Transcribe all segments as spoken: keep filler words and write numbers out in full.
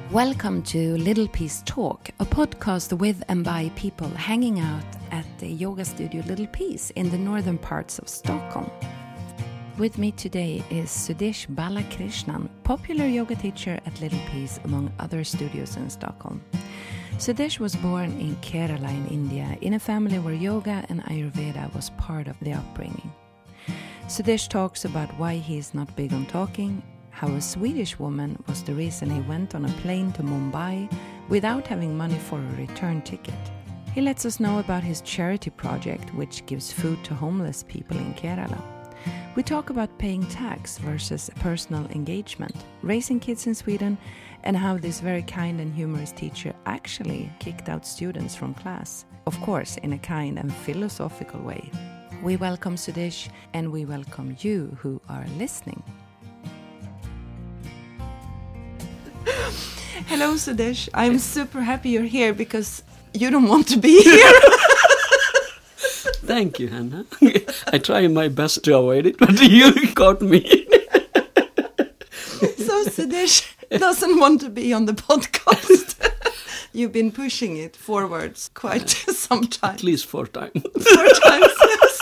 Welcome to Little Peace Talk, a podcast with and by people hanging out at the yoga studio Little Peace in the northern parts of Stockholm. With me today is Sudesh Balakrishnan, popular yoga teacher at Little Peace among other studios in Stockholm. Sudesh was born in Kerala in India in a family where yoga and Ayurveda was part of the upbringing. Sudesh talks about why he is not big on talking, how a Swedish woman was the reason he went on a plane to Mumbai without having money for a return ticket. He lets us know about his charity project, which gives food to homeless people in Kerala. We talk about paying tax versus personal engagement, raising kids in Sweden, and how this very kind and humorous teacher actually kicked out students from class. Of course, in a kind and philosophical way. We welcome Sudesh, and we welcome you who are listening. Hello, Sudesh. I'm super happy you're here because you don't want to be here. Thank you, Hannah. I try my best to avoid it, but you caught me. So Sudesh doesn't want to be on the podcast. You've been pushing it forwards quite some time. At least four times. Four times, yes.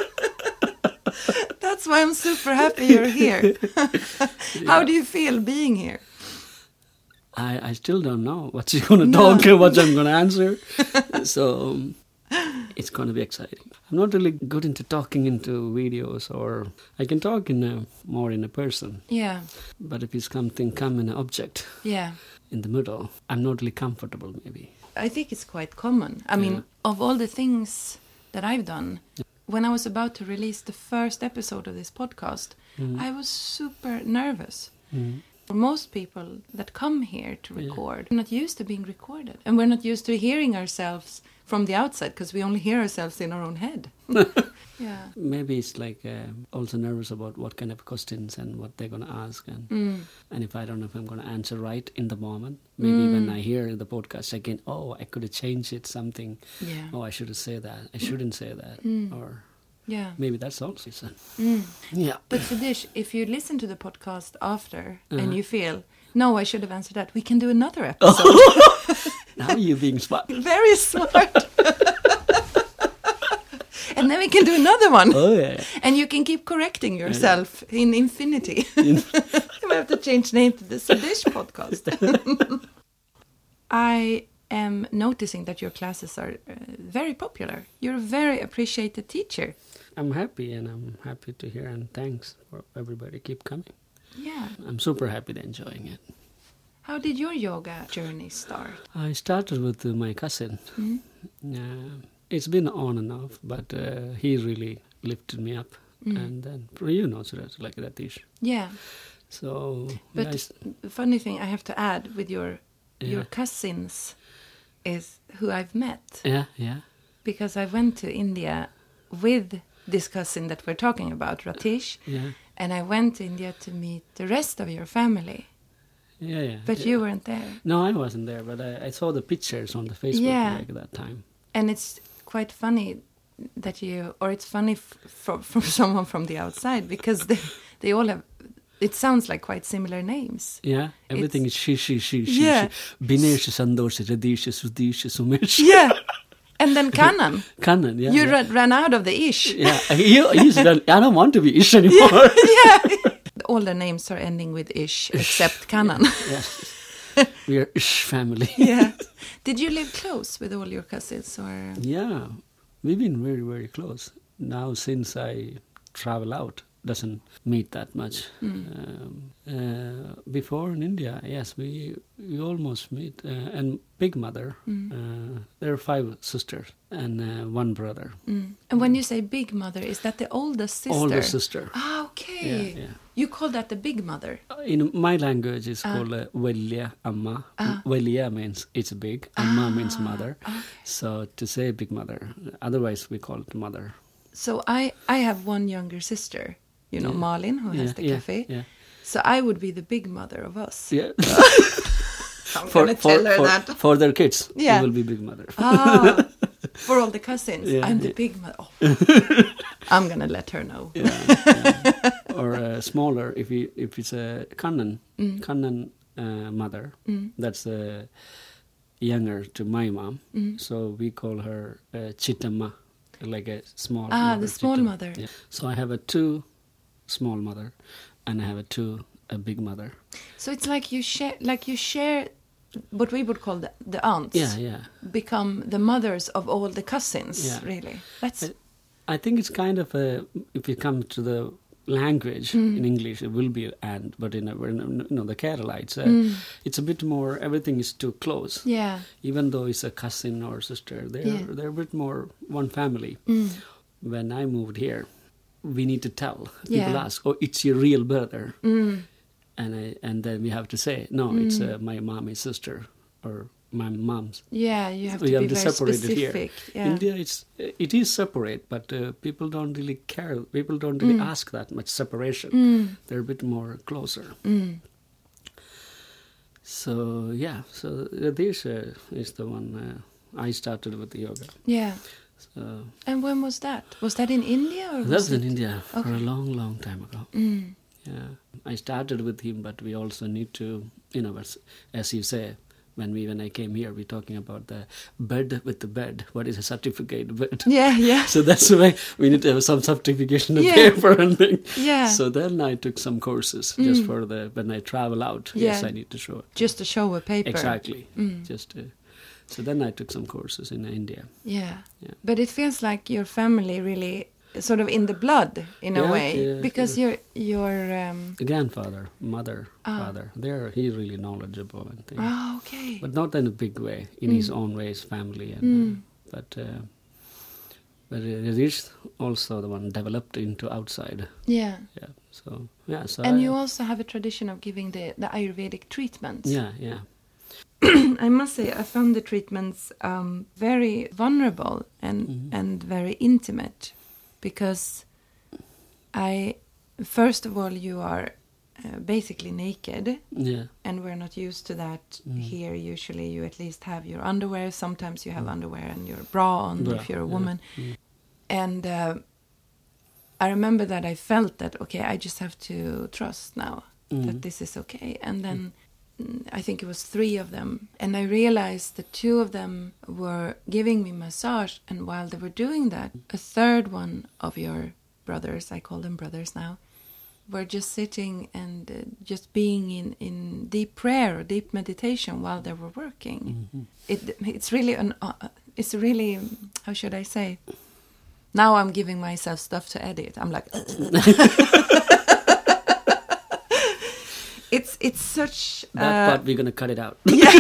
That's why I'm super happy you're here. How Yeah. do you feel being here? I, I still don't know what she's going to No. talk and what I'm going to answer. So um, it's going to be exciting. I'm not really good into talking into videos, or I can talk in a, more in a person. Yeah, But if it's something come in an object yeah. in the middle, I'm not really comfortable maybe. I think it's quite common. I mean, Yeah. of all the things that I've done, when I was about to release the first episode of this podcast, Mm. I was super nervous. Mm. For most people that come here to Yeah. record, we're not used to being recorded. And we're not used to hearing ourselves from the outside because we only hear ourselves in our own head. Yeah. Maybe it's like um also nervous about what kind of questions and what they're going to ask. And Mm. And if I don't know if I'm going to answer right in the moment, maybe Mm. when I hear the podcast again, oh, I could have changed it something. Yeah. Oh, I should have said that. I shouldn't say that. Mm. Or Yeah. maybe that's also it. Mm. Yeah. But Sudesh, if you listen to the podcast after and Uh-huh. you feel, no, I should have answered that, we can do another episode. Now you're being smart. Very smart. And then we can do another one. Oh, yeah. And you can keep correcting yourself in infinity. We have to change name to the Sudesh podcast. I am noticing that your classes are uh, very popular. You're a very appreciated teacher. I'm happy, and I'm happy to hear, and thanks for everybody keep coming. Yeah. I'm super happy they're enjoying it. How did your yoga journey start? I started with uh, my cousin. Mm. Uh, it's been on and off, but uh, he really lifted me up. Mm. And then, you know, so that's like Ratish. Yeah. So, But guys, the funny thing I have to add with your Yeah. your cousins is who I've met. yeah, yeah, Because I went to India with this cousin that we're talking about, Ratish. yeah, And I went to India to meet the rest of your family. yeah, yeah. But yeah. you weren't there. No, I wasn't there, but I, I saw the pictures on the Facebook Yeah. like that time. And it's quite funny that you, or it's funny f- from from someone from the outside because they, they all have, it sounds like quite similar names. Yeah, everything is she, she, she, she, Yeah. she. Binesh, Sandosh, Radish, Sudish, Sumesh. Yeah. And then Kanan. Kanan, yeah. You yeah. ran, ran out of the ish. Yeah, he, he's done, I don't want to be Ish anymore. Yeah. All the names are ending with ish except Kanan. Yes. We are Ish family. Yeah. Did you live close with all your cousins or? Yeah, we've been very, very close. Now, since I travel out, doesn't meet that much. Mm. Um, uh, before in India, yes, we we almost meet. Uh, and Big Mother, Mm. uh, there are five sisters and uh, one brother. Mm. And when you say big mother, is that the oldest sister? Older sister. Ah, okay. Yeah, yeah. You call that the big mother. In my language, it's Ah. called uh, Velya Amma. Ah. Velya means it's big, Amma Ah, means mother. okay. So to say Big Mother, otherwise we call it mother. So I, I have one younger sister, you know, Yeah. Malin, who has Yeah, the yeah, cafe. yeah. So I would be the big mother of us. Yeah. I'm for, gonna for, tell her for, that. for their kids, Yeah. you will be Big Mother. Ah, for all the cousins, Yeah, I'm the yeah. big mother. Oh. I'm gonna let her know. Yeah, yeah. Or uh, smaller, if we, if it's a Kannan, Mm. Kannan uh, mother. Mm. That's uh, younger to my mom. Mm. So we call her uh, Chittamma, like a small Ah, mother. the small Chittamma. mother. Yeah. So I have a two small mother, and I have a two a big mother. So it's like you share, like you share, what we would call the, the aunts. Yeah, yeah. Become the mothers of all the cousins. Yeah. Really, that's. I, I think it's kind of a, if you come to the language Mm. in English, it will be and, but in, a, in you know the Keralites, uh, Mm. it's a bit more. Everything is too close. Yeah. Even though it's a cousin or sister, they're Yeah. they're a bit more one family. Mm. When I moved here, we need to tell. People Yeah. ask, "Oh, it's your real brother," Mm. and I and then we have to say, "No, Mm. it's uh, my mommy's sister or my mom's." Yeah, you have We to have be to very separate it here. specific. Yeah. India, it's it is separate, but uh, people don't really care. People don't really Mm. ask that much separation. Mm. They're a bit more closer. Mm. So yeah, so uh, this uh, is the one uh, I started with the yoga. Yeah. So And when was that? Was that in India or was that's in it? India for a Okay. long, long time ago. Mm. Yeah, I started with him, but we also need to, you know, as, as you say, when we when I came here, we're talking about the bed with the bed. What is a certificate bed? Yeah, yeah. So that's why we need to have some certification of Yeah. paper and thing. Yeah. So then I took some courses Mm. just for the when I travel out. Yes, Yeah. I need to show it. Just to show a paper. Exactly. Mm. Just to, so then I took some courses in India. Yeah. Yeah. But it feels like your family really sort of in the blood in a Yeah, way yeah, because yeah. your your um The grandfather, mother, Ah. father, they're he's really knowledgeable and things. oh, okay. But not in a big way, in Mm. his own way, his family. And, Mm. uh, but uh, but it is also the one developed into outside. Yeah. Yeah. So yeah. So And I, you also have a tradition of giving the, the Ayurvedic treatments. yeah, yeah, I must say, I found the treatments um, very vulnerable and Mhm. and very intimate, because I, first of all, you are uh, basically naked, yeah, and we're not used to that Mm. here. Usually, you at least have your underwear. Sometimes you have underwear and your bra on Bra, if you're a yeah. woman. Mm. And uh, I remember that I felt that okay, I just have to trust now Mm. that this is okay. And then mm, I think it was three of them, and I realized that two of them were giving me massage, and while they were doing that, a third one of your brothers, I call them brothers now, were just sitting and uh, just being in, in deep prayer or deep meditation while they were working. Mhm. It it's really an uh, it's really, how should I say? Now I'm giving myself stuff to edit. I'm like. It's it's such That uh, part we're gonna cut it out. yeah.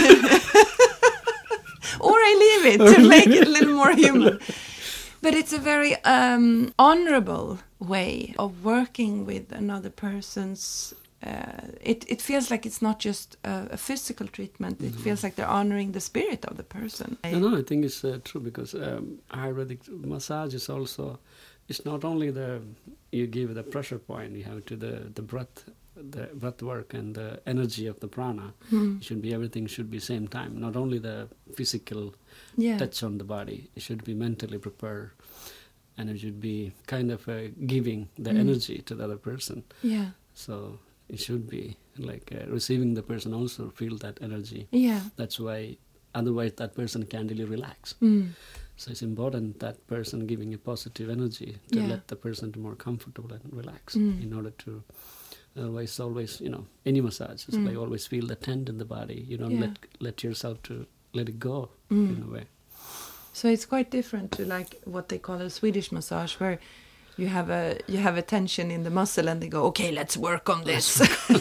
Or I leave it to make it a little more human. But it's a very um, honorable way of working with another person's. Uh, it it feels like it's not just a, a physical treatment. It feels like they're honoring the spirit of the person. No, no, I think it's uh, true because um, Ayurvedic massage is also. It's not only the you give the pressure point. You have to the the breath. The breath work and the energy of the prana Hmm. it should be everything should be same time, not only the physical Yeah. touch on the body, it should be mentally prepared, and it should be kind of uh, giving the Mm. energy to the other person. Yeah. So it should be like uh, receiving the person also feel that energy. Yeah. That's why otherwise that person can't really relax. Mm. So it's important that person giving a positive energy to Yeah. let the person to more comfortable and relax Mm. in order to. Otherwise, always, you know, any massage is Mm. like always feel the tent in the body. You don't Yeah. let let yourself to let it go Mm. in a way. So it's quite different to like what they call a Swedish massage, where you have a you have a tension in the muscle, and they go, okay, let's work on this.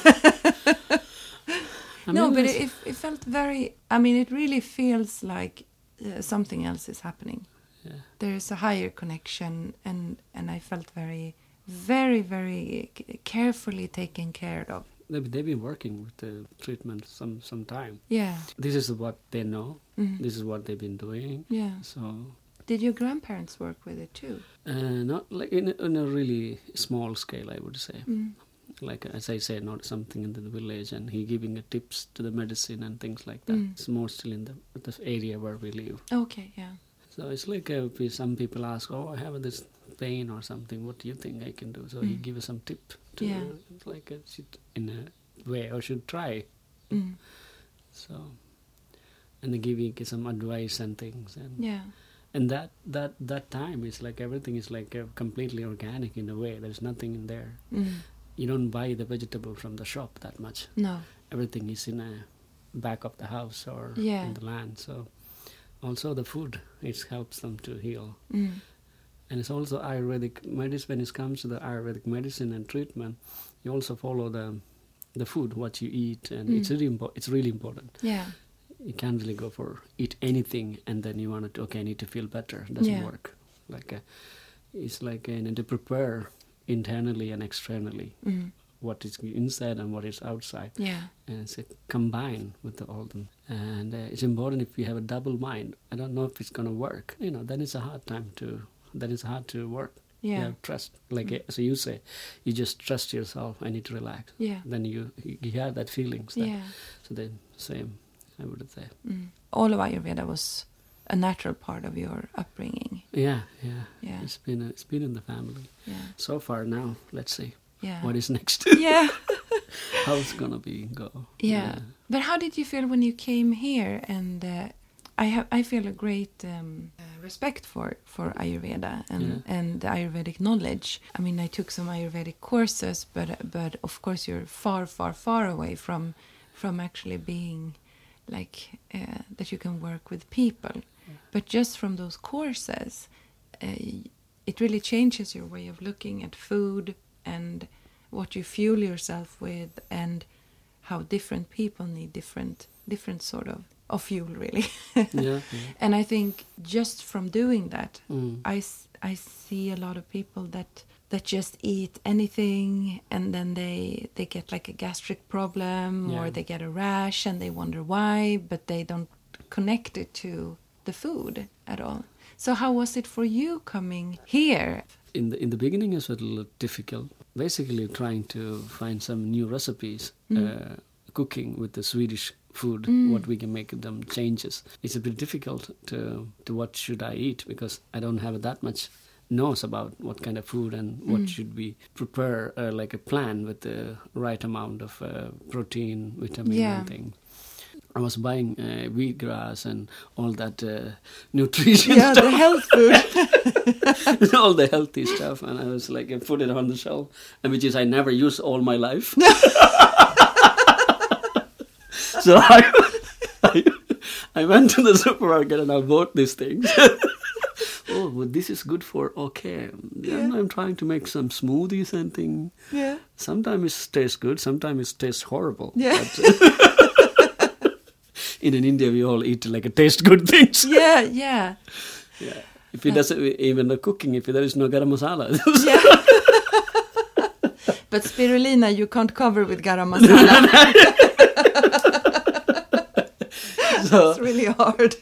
I No, mean, but it's- it, it felt very. I mean, it really feels like uh, something else is happening. yeah. There is a higher connection, and and I felt very, very, very c- carefully taken care of. They've, they've been working with the treatment some some time. Yeah. This is what they know. Mhm. This is what they've been doing. Yeah. So, Did your grandparents work with it too? uh, not like in a, in a really small scale, I would say. Mm. Like as I said, not something in the village, and he giving a tips to the medicine and things like that. Mm. It's more still in the the area where we live. Okay. Yeah. So it's like uh, if some people ask, "Oh, I have this pain or something. What do you think I can do?" So he Mm. gives some tip to Yeah. like a, in a way, or should try Mm. So, and they give you some advice and things, and Yeah. and that that that time is like everything is like uh, completely organic in a way. There's nothing in there. Mm. You don't buy the vegetable from the shop that much. No. Everything is in a back of the house or Yeah. in the land. So also the food, it helps them to heal. Mm. And it's also Ayurvedic medicine. When it comes to the Ayurvedic medicine and treatment, you also follow the the food, what you eat, and Mm. it's really impo- it's really important. Yeah. You can't really go for eat anything and then you want to, okay, I need to feel better. It doesn't Yeah. work. Like uh, it's like uh, you need to prepare internally and externally Mm. what is inside and what is outside. Yeah. And it's uh, combined with the, all them. And uh, it's important if you have a double mind. I don't know if it's going to work. You know, then it's a hard time to, then it's hard to work. Yeah. You have trust. Like, Mm. uh, so you say, you just trust yourself, I need to relax. Yeah. Then you, you, you have that feelings. That, Yeah. So then, same, I would say. Mm. All of Ayurveda was a natural part of your upbringing. Yeah, yeah. Yeah. It's been, uh, it's been in the family. Yeah. So far now, let's see. Yeah. What is next? Yeah. How it's going to be, go. Yeah. But how did you feel when you came here? And uh, I have, I feel a great um, uh, respect for, for Ayurveda and, Yeah. and the Ayurvedic knowledge. I mean, I took some Ayurvedic courses, but but of course you're far, far, far away from from actually being like uh, that you can work with people. Yeah. But just from those courses, uh, it really changes your way of looking at food and what you fuel yourself with, and how different people need different different sort of, of fuel, really. Yeah, yeah. And I think just from doing that, Mm. I, s- I see a lot of people that that just eat anything, and then they they get like a gastric problem, or Yeah. they get a rash and they wonder why, but they don't connect it to the food at all. So how was it for you coming here? In the in the beginning, it's a little difficult. Basically, trying to find some new recipes, Mm. uh, cooking with the Swedish food, Mm. what we can make them changes. It's a bit difficult to to what should I eat, because I don't have that much knows about what kind of food and what Mm. should we prepare, uh, like a plan with the right amount of uh, protein, vitamin, Yeah. and things. I was buying uh, wheatgrass and all that uh, nutrition Yeah, stuff. the health food. All the healthy stuff, and I was like, I put it on the shelf, and which is I never use all my life. So I, I, I went to the supermarket and I bought these things. Oh, well, this is good for okay. Yeah. And I'm trying to make some smoothies and things. Yeah. Sometimes it tastes good, sometimes it tastes horrible. Yeah. But, in India, we all eat like a taste good things. Yeah, yeah. Yeah. If it doesn't, even the cooking, if there is no garam masala. Yeah. But spirulina you can't cover with garam masala. So, It's really hard.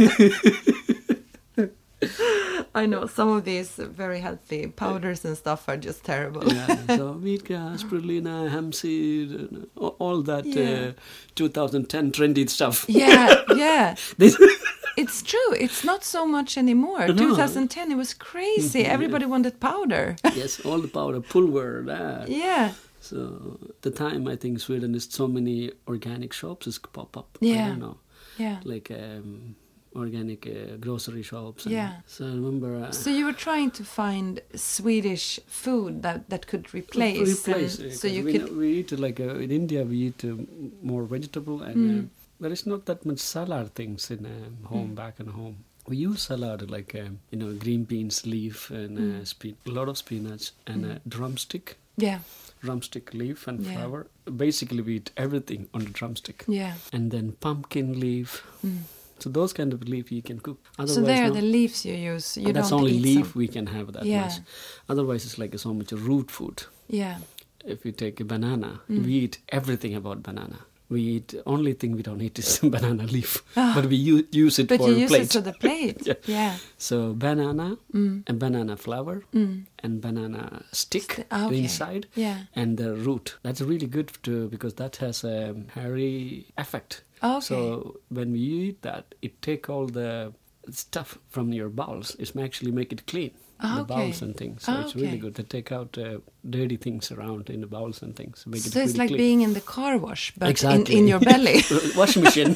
I know some of these very healthy powders and stuff are just terrible. yeah, so wheatgrass, spirulina, hemp seed, and all- all that Yeah. uh, twenty ten trendy stuff. Yeah, yeah. This- It's true. It's not so much anymore. No. twenty ten, it was crazy. Yeah. Everybody wanted powder. yes, all the powder, pulver, that. Yeah. So the time I think Sweden is so many organic shops is pop up. I Yeah. don't know, Yeah. like um, organic uh, grocery shops. And Yeah. So I remember. Uh, So you were trying to find Swedish food that, that could replace. replace and it, so 'cause you we, could. know- we eat like uh, in India we eat uh, more vegetable, and Mm. uh, there is not that much salad things in um, home Mm. back in home. We use salad like um, you know green beans leaf and uh, Mm. spe- a lot of spinach and Mm. uh, drumstick, Yeah. drumstick leaf and Yeah. flour. Basically, we eat everything on the drumstick, Yeah. and then pumpkin leaf. Mm. So those kind of leaf you can cook. So Otherwise, there are no. the leaves you use. You That's don't only eat leaf some. we can have that Yeah. much. Otherwise, it's like so much root food. Yeah. If you take a banana, Mm. we eat everything about banana. We eat, only thing we don't eat is banana leaf. Ah. But we u- use it But for you a use plate. it to the plate. Yeah. Yeah. So banana Mm. and banana flour Mm. and banana stick St- ah, okay. inside Yeah. and the root. That's really good to, because that has a hairy effect. Okay. So when you eat that, it take all the stuff from your bowels. It actually make it clean. Ah, the okay. bowls and things. So Ah, it's okay. really good. They take out uh, dirty things around in the bowls and things. Make So it it's really like clean. being in the car wash, but Exactly. in, in your belly. Washing machine.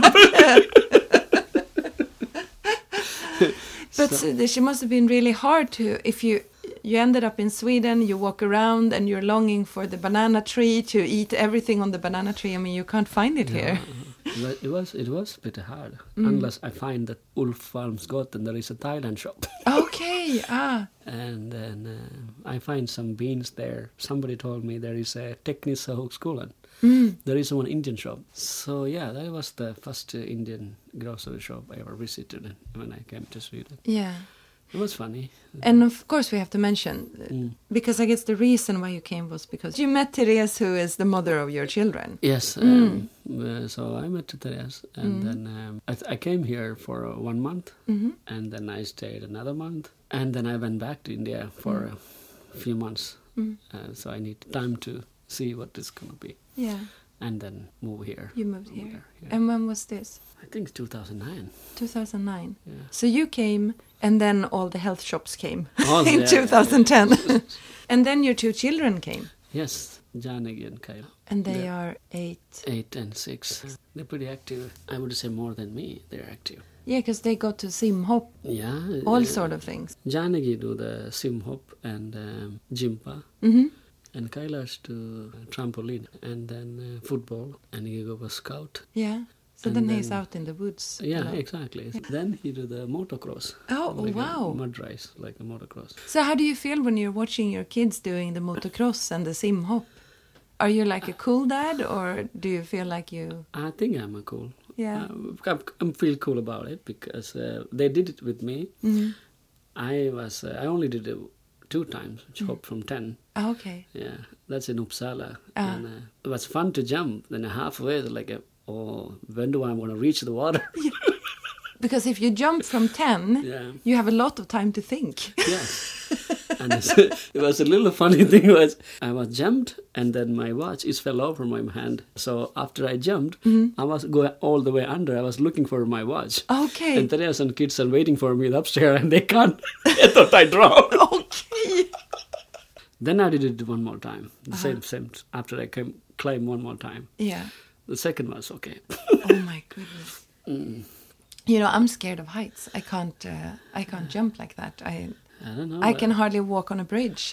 But So- uh, she must have been really hard to, if you you ended up in Sweden, you walk around and you're longing for the banana tree to eat everything on the banana tree. I mean, you can't find it here. But it was it was a bit hard Mm. unless I find that Ulf Farmsgott and there is a Thailand shop. Okay, ah, And then uh, I find some beans there. Somebody told me there is a Tekniska Högskolan. mm, There is one Indian shop. So yeah, that was the first uh, Indian grocery shop I ever visited when I came to Sweden. yeah. It was funny. And of course we have to mention, uh, Mm. because I guess the reason why you came was because you met Therese, who is the mother of your children. Yes, Mm. um, uh, so I met Therese, and Mm. then um, I, th- I came here for uh, one month, Hmm. and then I stayed another month, and then I went back to India for Mm. a few months. Mm. Uh, so I need time to see what it's going to be, Yeah, and then move here. you moved Move here. there, yeah. And when was this? I think two thousand nine. two thousand nine. Yeah. So you came, and then all the health shops came Oh, in yeah. two thousand ten. And then your two children came, Yes, Janagi and Kyle. and they Yeah. are eight. Eight and six. They're pretty active. I would say more than me. They're active. Yeah, because they go to simhop, Yeah. all uh, sort of things. Janagi do the sim hop and um, jimpa. Hmm. And Kailash to trampoline, and then uh, football, and he go for scout. Yeah. So And then, he's then- out in the woods. a Yeah, lot. exactly. Then he do the motocross. Oh, like wow. A mud race, like a motocross. So how do you feel when you're watching your kids doing the motocross and the sim hop? Are you like a cool dad, or do you feel like you? I think I'm a cool. Yeah. Uh, I, I feel cool about it because uh, they did it with me. Mm. I was. Uh, I only did it two times. Hop from ten. Ah, okay. Yeah, that's in Uppsala. Ah. And uh, it was fun to jump. Then halfway, like, a, oh, when do I want to reach the water? Because if you jump from ten, Yeah. you have a lot of time to think. Yes. And it's, it was a little funny thing was I was jumped and then my watch is fell over my hand. So after I jumped, I was going all the way under. I was looking for my watch. Okay. And there are some kids are waiting for me upstairs and they can't. They thought I drowned. Okay. Then I did it one more time. The Uh-huh. same, same. After I came, climbed one more time. Yeah. The second was okay. Oh my goodness. Mm. You know, I'm scared of heights. I can't. Uh, I can't jump like that. I. I don't know. I can hardly walk on a bridge.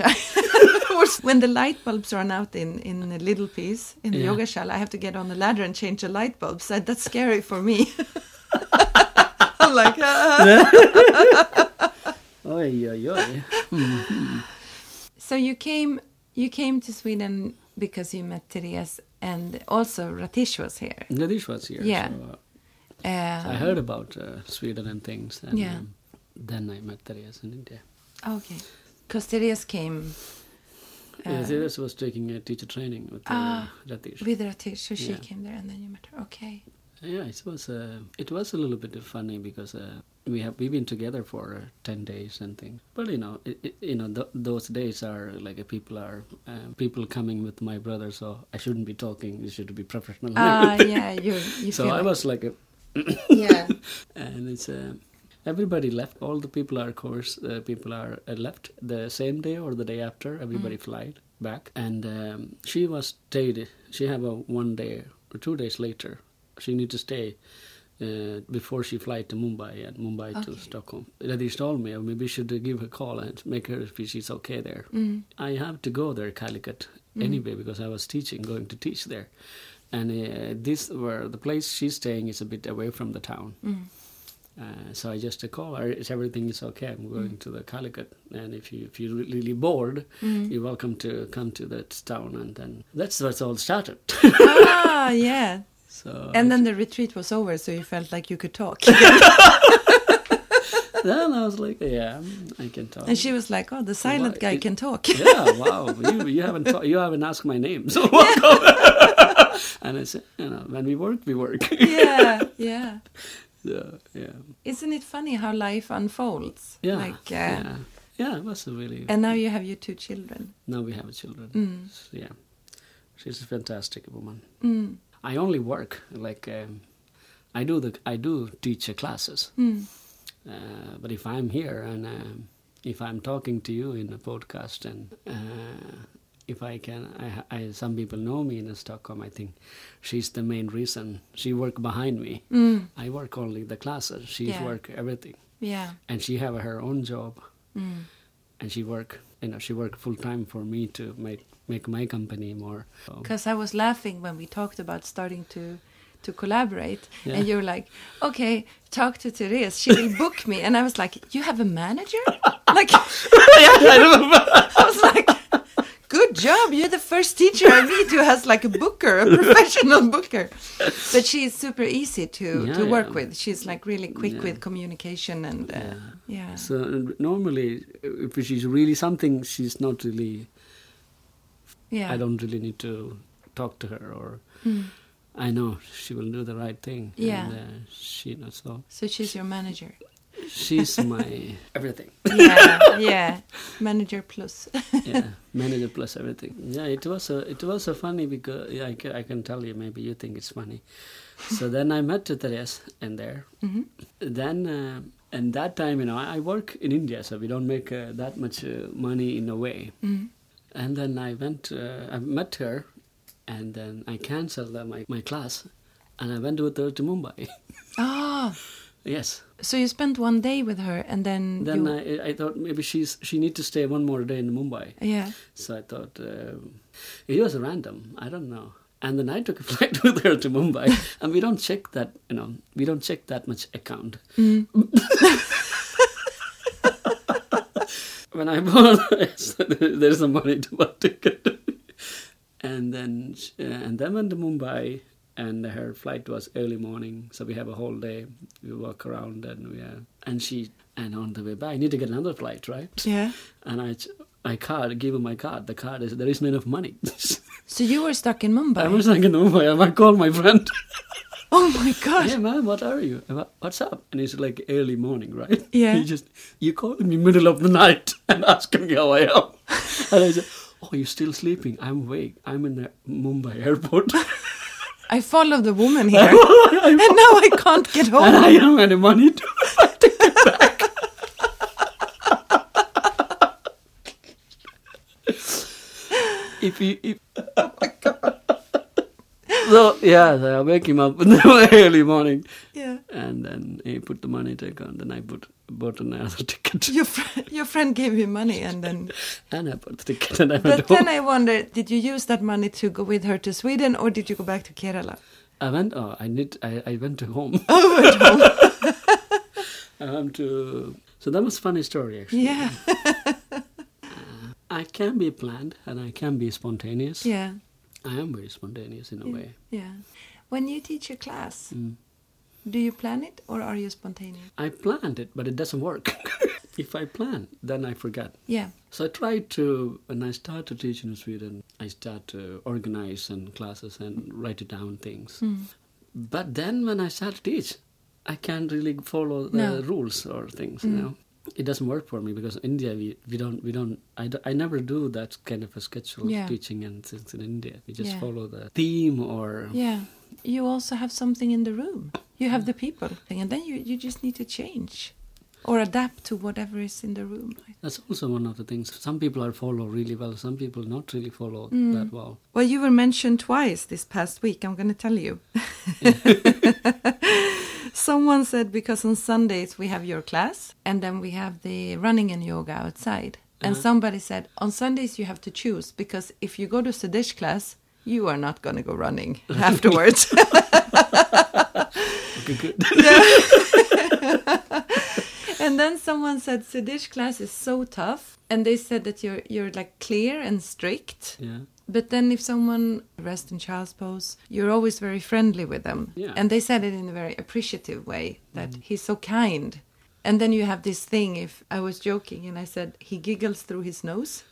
When the light bulbs run out in, in a little piece in the Yeah. yoga shala, I have to get on the ladder and change the light bulbs. That, that's scary for me. I'm like, ah. Oi, oi, oi. So you came you came to Sweden because you met Therese, and also Ratish was here. Nadish was here. Yeah. So, uh, Um, so I heard about uh, Sweden and things. And Yeah. um, then I met Therese in India. Okay. Because Therese came Yeah, uh, Therese was taking a teacher training with uh, Ah. Ratish. with Ratish, so she Yeah. came there, and then you met her. Okay. Yeah, it was uh, it was a little bit funny because uh, we have we've been together for uh, ten days and things. But you know, it, it, you know, th- those days are like uh, people are um, people coming with my brother, so I shouldn't be talking. You should be professional. Ah, yeah, you you so feel I like, was like, a, yeah. and it's uh, everybody left. All the people are, of course, uh, people are uh, left the same day or the day after. Everybody flied back, and um, she was stayed. She have a one day or two days later. She need to stay uh, before she fly to Mumbai and Mumbai to Okay. Stockholm. Radish told me, oh, maybe we should give her a call and make her if she's okay there. Mm. I have to go there, Calicut, anyway, because I was teaching, going to teach there. And uh, this where the place she's staying is a bit away from the town. Mm. Uh, so I just uh, call her. Is everything is okay? I'm going to the Calicut, and if you if you're really bored, Mm. you're welcome to come to that town. And then that's where it all started. Ah, yeah. So And then the retreat was over, so you felt like you could talk. then I was like, yeah, I can talk. And she was like, "Oh, the silent Why- guy it- can talk." Yeah, wow. You, you haven't ta- you haven't asked my name, so welcome. And I said, you know, when we work, we work. Yeah, yeah. So, yeah, Isn't it funny how life unfolds? yeah, Like, uh, yeah, yeah. It was a really. And now you have your two children. Now we have children. Mm. So, yeah, she's a fantastic woman. Mm. I only work like um, I do the I do teach uh, classes, Mm. uh, but if I'm here and um, if I'm talking to you in a podcast, and uh, if I can, I, I some people know me in Stockholm. I think she's the main reason. She work behind me. Mm. I work only the classes. She Yeah. work everything. Yeah. And she have her own job, Mm. and she work. You know, she work full time for me to make make my company more. So, Because I was laughing when we talked about starting to to collaborate, Yeah. and you're like, okay, talk to Therese, she will book me, and I was like, you have a manager? Like, yeah, I remember. I was like, good job, you're the first teacher I meet who has like a booker, a professional booker. But she's super easy to, Yeah, to work yeah. with. She's like really quick Yeah. with communication and uh, Yeah. yeah. So uh, normally, if she's really something, she's not really. yeah. I don't really need to talk to her, or Mm. I know she will do the right thing. Yeah. And, uh, she knows so. So she's your manager. She's my everything. Yeah, yeah. Manager plus. Yeah, manager plus everything. Yeah, it was a, it was a funny because yeah, I, can, I can tell you, maybe you think it's funny. So then I met Therese in there. Mm-hmm. Then uh, and that time, you know, I, I work in India, so we don't make uh, that much uh, money in a way. Mm. And then I went, uh, I met her, and then I cancelled uh, my my class, and I went with her to Mumbai. Ah, Yes. so you spent one day with her, and then Then you, I I thought maybe she's she need to stay one more day in Mumbai. yeah. So I thought um, it was random. I don't know. And then I took a flight with her to Mumbai, and we don't check that. You know, we don't check that much account. Mm. When I bought, there's some money to buy ticket. And then uh, and then went to Mumbai, and her flight was early morning, so we have a whole day. We walk around, and we uh, and she and on the way back, I need to get another flight, right? Yeah. And I, my card, give her my card. The card is there isn't enough money. So you were stuck in Mumbai? I was like, in Mumbai. I might call my friend. Oh my gosh. Hey man, what are you? What's up? And it's like early morning, right? Yeah. He just you call me middle of the night and asking me how I am, and I said, "Oh, you're still sleeping? I'm awake. I'm in the Mumbai airport." I follow the woman here, and now I can't get home. And I don't have any money to take it back. if you, if... Oh my God. So yeah, so I wake him up in the early morning, Yeah. and then he put the money to account. Then I put bought another ticket, Your fr- your friend gave you money, and then. and I bought the ticket, and I went But home. then I wonder, did you use that money to go with her to Sweden, or did you go back to Kerala? I went. Oh, I need. I, I went to home. Oh, went home. I went to. So that was a funny story, actually. Yeah. I can be planned, and I can be spontaneous. Yeah. I am very spontaneous in a Yeah. way. Yeah. When you teach a class, Mm. do you plan it, or are you spontaneous? I planned it, but it doesn't work. If I plan, then I forget. Yeah. So I try to, when I start to teach in Sweden, I start to organize and classes and write it down things. Mm. But then when I start to teach, I can't really follow the No. rules or things. Mm. You know, it doesn't work for me because in India we, we don't we don't I, do, I never do that kind of a schedule Yeah. of teaching and things in India. We just Yeah. follow the theme or Yeah. You also have something in the room. You have the people thing, and then you, you just need to change or adapt to whatever is in the room. that's also one of the things. Some people are follow really well. Some people not really follow Mm. that well. Well, you were mentioned twice this past week. I'm going to tell you. Someone said because on Sundays we have your class, and then we have the running and yoga outside. And Uh-huh. somebody said on Sundays you have to choose, because if you go to Siddish class, you are not going to go running afterwards. Okay, good. And then someone said Siddish class is so tough, and they said that you're you're like clear and strict. Yeah. But then if someone rest in child's pose, you're always very friendly with them. Yeah. And they said it in a very appreciative way, that he's so kind. And then you have this thing, if I was joking and I said he giggles through his nose.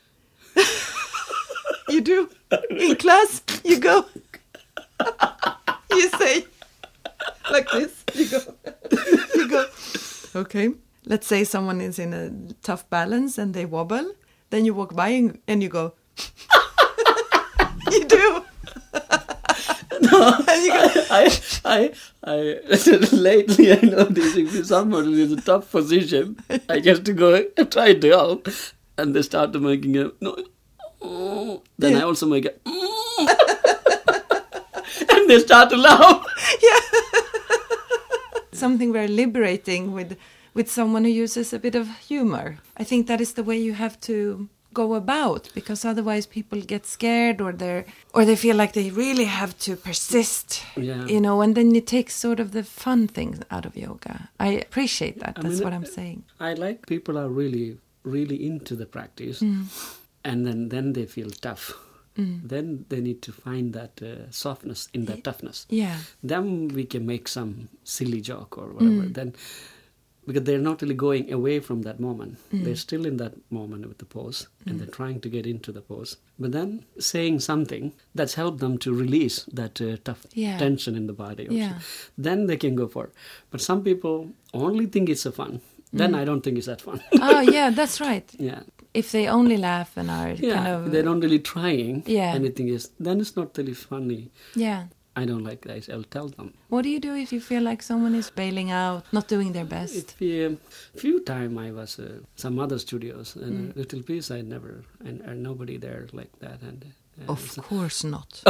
You do. In class, you go. You say like this. You go. You go. Okay. Let's say someone is in a tough balance and they wobble. Then you walk by and, and you go. You do. No, I, I, I, lately I noticed if someone is in a tough position, I just to go and try to help, and they start making a no. Oh. Then yeah. I also make a, mm. and they start to laugh. Yeah, something very liberating with with someone who uses a bit of humor. I think that is the way you have to go about, because otherwise people get scared, or they or they feel like they really have to persist, yeah. you know, and then it takes sort of the fun things out of yoga. I appreciate that. I That's mean, what I'm saying. I like people are really, really into the practice, mm. and then, then they feel tough. Mm. Then they need to find that uh, softness in that toughness. Yeah. Then we can make some silly joke or whatever. Mm. Then, because they're not really going away from that moment. Mm. They're still in that moment with the pose, and mm. they're trying to get into the pose. But then saying something that's helped them to release that uh, tough yeah. tension in the body. Also. Yeah. Then they can go for it. But some people only think it's a fun. Then mm. I don't think it's that fun. Oh, yeah, that's right. Yeah. If they only laugh and are yeah, kind of... they're not really trying yeah. anything, is then it's not really funny. Yeah. I don't like that. I'll tell them. What do you do if you feel like someone is bailing out, not doing their best? It be a few time I was uh, some other studios, and mm. a little piece I never, and, and nobody there like that. And uh, Of course not.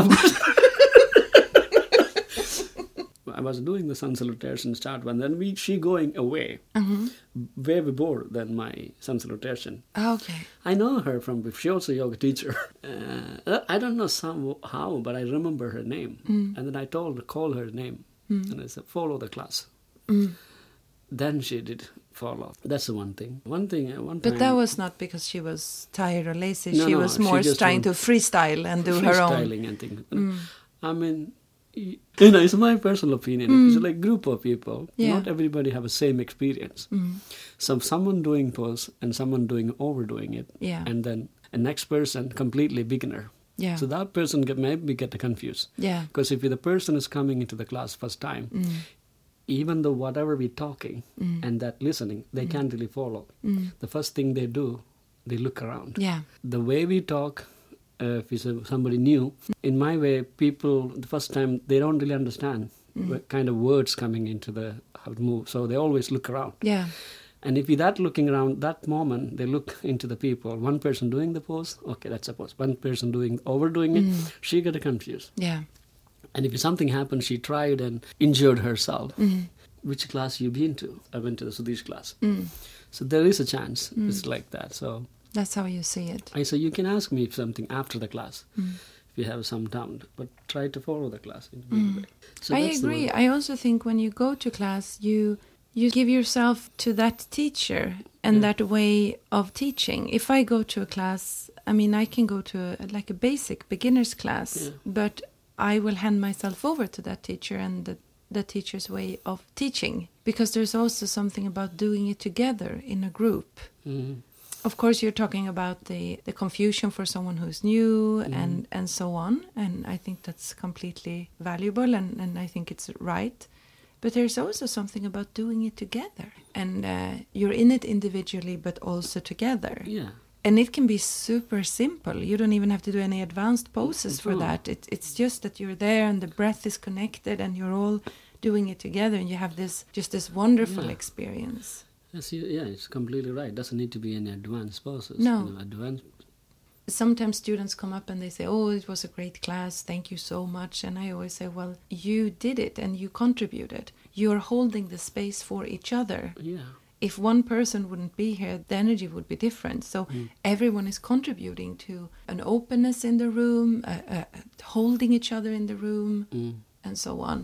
I was doing the sun salutation start, and then we she going away, mm-hmm. way before than my sun salutation. Okay. I know her from, she also a yoga teacher. Uh, I don't know some how, but I remember her name. Mm. And then I told her, call her name. Mm. And I said, follow the class. Mm. Then she did follow. That's the one thing. One thing, uh, one But time, that was not because she was tired or lazy. No, she no, was she more just trying to want- freestyle and do her own. freestyling and things. Mm. I mean, y- you know, it's my personal opinion. Mm. It's like group of people. Yeah. Not everybody have the same experience. Mm. So someone doing pose and someone doing overdoing it. Yeah. And then a next person completely beginner. Yeah. So that person get, maybe get confused. Yeah. Because if the person is coming into the class first time, Mm. even though whatever we're talking Mm. and that listening, they Mm. can't really follow. Mm. The first thing they do, they look around. Yeah. The way we talk, uh, if it's a, somebody new, in my way, people, the first time, they don't really understand Mm. what kind of words coming into the, how to move. So they always look around. Yeah. And if you're that looking around, that moment, they look into the people. One person doing the pose, okay, that's a pose. One person doing overdoing it, Mm. she get confused. Yeah. And if something happened, she tried and injured herself. Mm. Which class you been to? I went to the Sudesh class. Mm. So there is a chance. Mm. It's like that. So That's how you see it. I say, you can ask me if something after the class, Mm. if you have some doubt, but try to follow the class in a big Mm. way. So I that's the agree. way. I also think when you go to class, you you give yourself to that teacher and Yeah. that way of teaching. If I go to a class, I mean, I can go to a, like a basic beginner's class, Yeah. but I will hand myself over to that teacher and the, the teacher's way of teaching, because there's also something about doing it together in a group. Mhm. Of course, you're talking about the, the confusion for someone who's new Mm. and, and so on. And I think that's completely valuable, and, and I think it's right. But there's also something about doing it together. And uh, you're in it individually, but also together. Yeah. And it can be super simple. You don't even have to do any advanced poses for No. that. It, it's just that you're there and the breath is connected and you're all doing it together. And you have this just this wonderful Yeah. experience. Yes, you- yeah, it's completely right. Doesn't need to be any advanced poses. No. You know, advanced. Sometimes students come up and they say, oh, it was a great class, thank you so much. And I always say, well, you did it and you contributed. You're holding the space for each other. Yeah. If one person wouldn't be here, the energy would be different. So Mm. everyone is contributing to an openness in the room, uh, uh, holding each other in the room, Mm. and so on.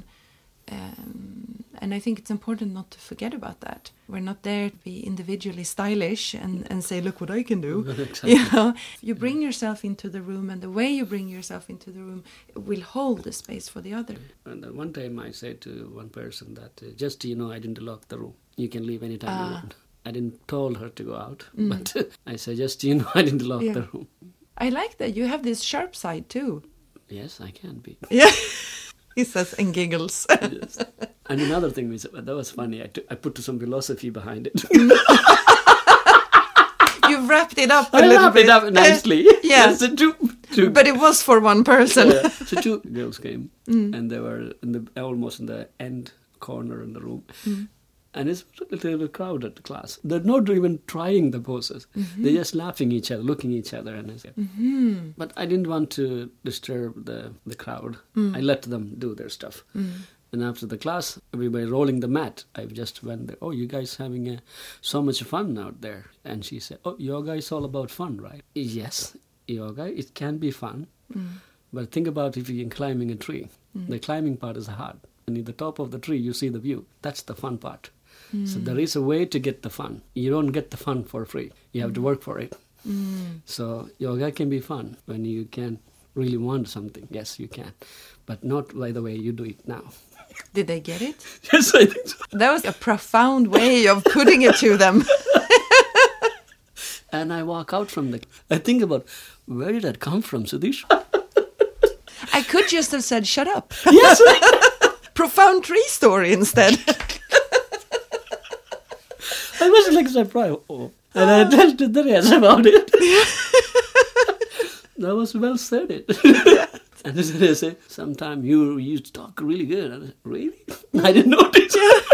Um, and I think it's important not to forget about that. We're not there to be individually stylish and, and say, look what I can do. Exactly. You know, you bring yourself into the room, and the way you bring yourself into the room will hold the space for the other. And then one time I said to one person that, uh, just, you know, I didn't lock the room. You can leave anytime you Ah. want. I didn't told her to go out, Mm. but I said, just, you know, I didn't lock Yeah. the room. I like that. You have this sharp side too. Yes, I can be. Yeah. He says and giggles. Yes. And another thing was, that was funny. I, t- I put some philosophy behind it. You've wrapped it up a I little wrapped bit. it up nicely. Yeah. That's the truth. two, but it was for one person. yeah. So two girls came, Mm. and they were in the almost in the end corner in the room. Mm. And it's a little bit crowded, the class. They're not even trying the poses. Mhm. They're just laughing each other, looking each other. And I said, Mhm. but I didn't want to disturb the, the crowd. Mm. I let them do their stuff. Mm. And after the class, we were rolling the mat. I just went there, oh, you guys having uh, so much fun out there. And she said, oh, yoga is all about fun, right? Yes, yoga, it can be fun. Mm. But think about if you're climbing a tree. Mm. The climbing part is hard. And at the top of the tree, you see the view. That's the fun part. Mm. So there is a way to get the fun. You don't get the fun for free. You have to work for it. Mm. So yoga can be fun when you can really want something. Yes, you can. But not by the way you do it now. Did they get it? Yes, I think so. That was a profound way of putting it to them. And I walk out from the... I think about, where did that come from, Sudhish? I could just have said, shut up. Yes! Profound tree story instead. I was like surprised. Oh. And I told to Therese about it. That was well said it. And they say, sometime you you talk really good. I said, really? I didn't notice.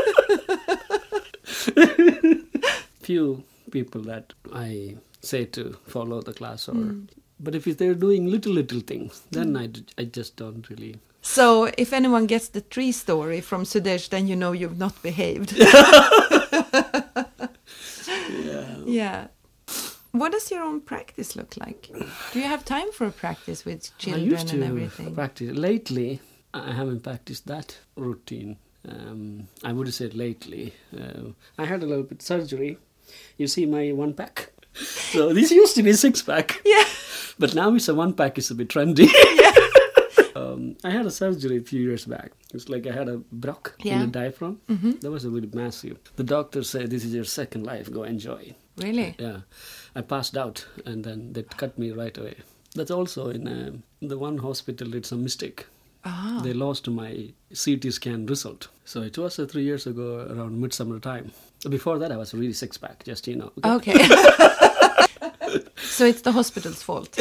Few people that I say to follow the class, or mm. but if they're doing little little things, then mm. I, I just don't really. So if anyone gets the tree story from Sudesh, then you know you've not behaved. Yeah. Yeah. What does your own practice look like? Do you have time for a practice with children I used to and everything? Practice. Lately, I haven't practiced that routine. Um, I would have said lately. Uh, I had a little bit surgery. You see my one pack. So this used to be a six pack. Yeah. But now it's a one pack. It's a bit trendy. Yeah. um, I had a surgery a few years back. It's like I had a brock Yeah. in the diaphragm. Mm-hmm. That was a really massive. The doctor said, this is your second life. Go enjoy. Really? Yeah. I passed out and then they cut me right away. That's also in uh, the one hospital did some mistake. Ah. They lost my C T scan result. So it was uh, three years ago around midsummer time. Before that I was really six pack, just, you know. Okay. So it's the hospital's fault.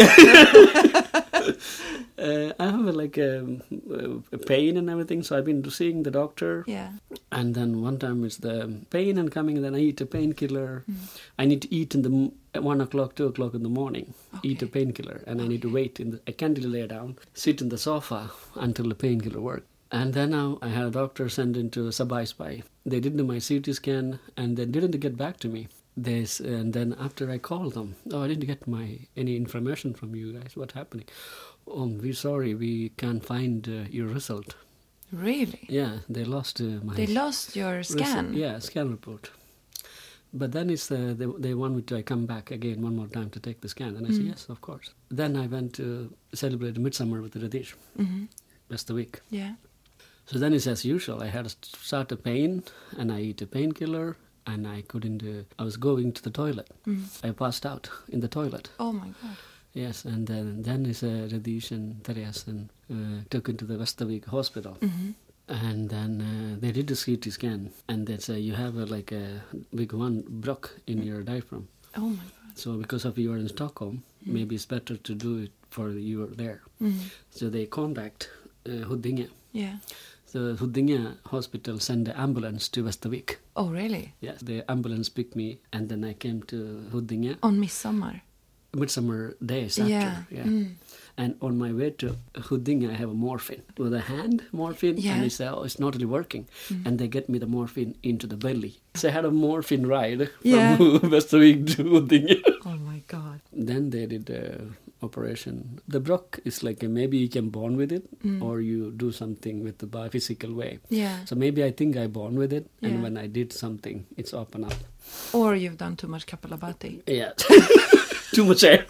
uh, I have uh, like a, a pain and everything, so I've been seeing the doctor. Yeah. And then one time it's the pain and coming, and then I eat a painkiller. Mm. I need to eat in the m- at one o'clock, two o'clock in the morning. Okay. Eat a painkiller, and Okay. I need to wait. In the, I can't really lay down, sit in the sofa until the painkiller works. And then now I had a doctor sent into Sabai Spy. They did my C T scan, and they didn't get back to me. They, and then after I called them, oh, I didn't get my any information from you guys. What's happening? Oh, we're sorry, we can't find uh, your result. Really? Yeah, they lost uh, my... They lost your scan? Result, yeah, scan report. But then it's uh, they, they want me to come back again one more time to take the scan. And I Mm. said, yes, of course. Then I went to celebrate Midsummer with Radish. Mm-hmm. That's the week. Yeah. So then it's as usual. I had a start a pain, and I eat a painkiller, and I couldn't... Uh, I was going to the toilet. Mm. I passed out in the toilet. Oh, my God. Yes, and then then is uh, Radish and Therese and uh, took into the Vestavik hospital. Mm-hmm. And then uh, they did a C T scan, and they say you have a, like a big one brock in your diaphragm. Oh, my God. So because of you are in Stockholm, Mm. maybe it's better to do it for you are there. Mm. So they contact uh, Huddinge. Yeah. So Huddinge hospital sent the ambulance to Vestavik. Oh, really? Yes, the ambulance picked me, and then I came to Huddinge. On Midsommar? Midsummer days after. Yeah. Yeah. Mm. And on my way to Huddinge, I have a morphine. With a hand morphine, Yeah. and they say, oh, it's not really working. Mm. And they get me the morphine into the belly. So I had a morphine ride Yeah. from Västervik to Huddinge. Oh, my God. Then they did the operation. The brock is like a, maybe you can born with it, Mm. or you do something with the bi- physical way. Yeah. So maybe I think I born with it, and Yeah. when I did something, it's open up. Or you've done too much Kapalabhati. Yeah. Too much air.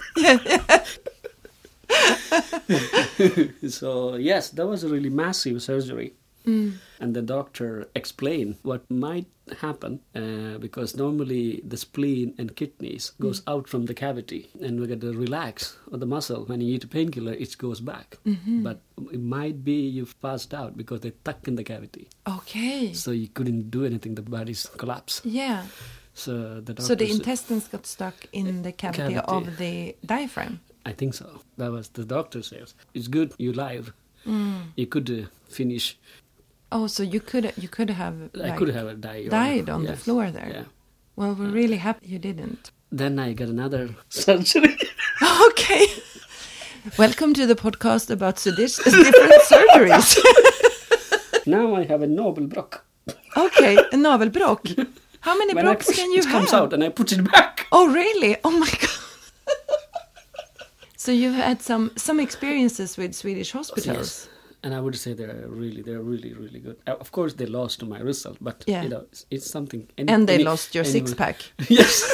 So yes, that was a really massive surgery. Mm. And the doctor explained what might happen uh, because normally the spleen and kidneys goes Mm. out from the cavity, and we get to relax on the muscle. When you eat a painkiller, it goes back. Mm-hmm. But it might be you've passed out because they stuck in the cavity. Okay. So you couldn't do anything. The body's collapsed. Yeah. So the doctor So the said- intestines got stuck in the cavity, Cavity. of the diaphragm? I think so. That was the doctor says. It's good you live. Mm. You could uh, finish. Oh, so you could you could have I like, could have died. died on yes, the floor there. Yeah. Well, we're really happy you didn't. Then I got another surgery. Okay. Welcome to the podcast about Swedish different surgeries. Now I have a Nobelbrock. Okay, a navelbrock. How many When brocks I push, can you it have? comes out and I put it back. Oh, really? Oh my god. So you've had some some experiences with Swedish hospitals. Yes. And I would say they're really, they're really, really good. Uh, of course, they lost to my result, but Yeah. you know, it's, it's something. Any, And they any, lost your anyone- six pack. Yes.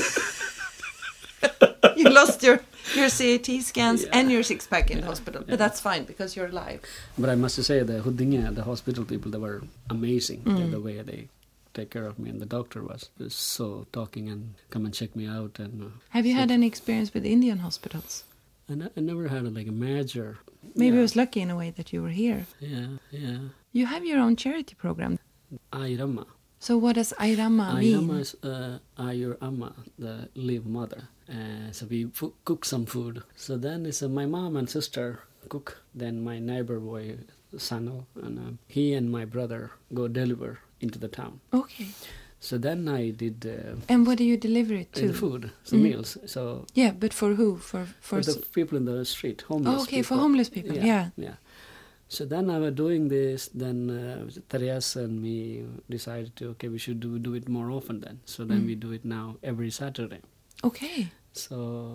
You lost your your C A T scans Yeah. and your six pack in Yeah. hospital, but Yeah. that's fine because you're alive. But I must say, the Huddinge, the hospital people, they were amazing. Mm. The, the way they take care of me, and the doctor was, was so talking and come and check me out. And uh, Have you so- had any experience with Indian hospitals? I, ne- I never had a, like a major. Maybe yeah. I was lucky in a way that you were here. Yeah, yeah. You have your own charity program. Airama. So what does Airama mean? Airama is uh, Ayur Amma, the live mother. Uh, so we fo- cook some food. So then it's uh, my mom and sister cook. Then my neighbor boy, Sano, and uh, he and my brother go deliver into the town. Okay. So then I did uh, And what do you deliver it to? the food, so Mm. meals. So Yeah, but for who? For for for the s- people in the street, homeless. Oh, okay, for people. homeless people. Yeah. yeah. So then I was doing this. Then uh, Therese and me decided to okay, we should do do it more often. Then so then Mm. we do it now every Saturday. Okay. So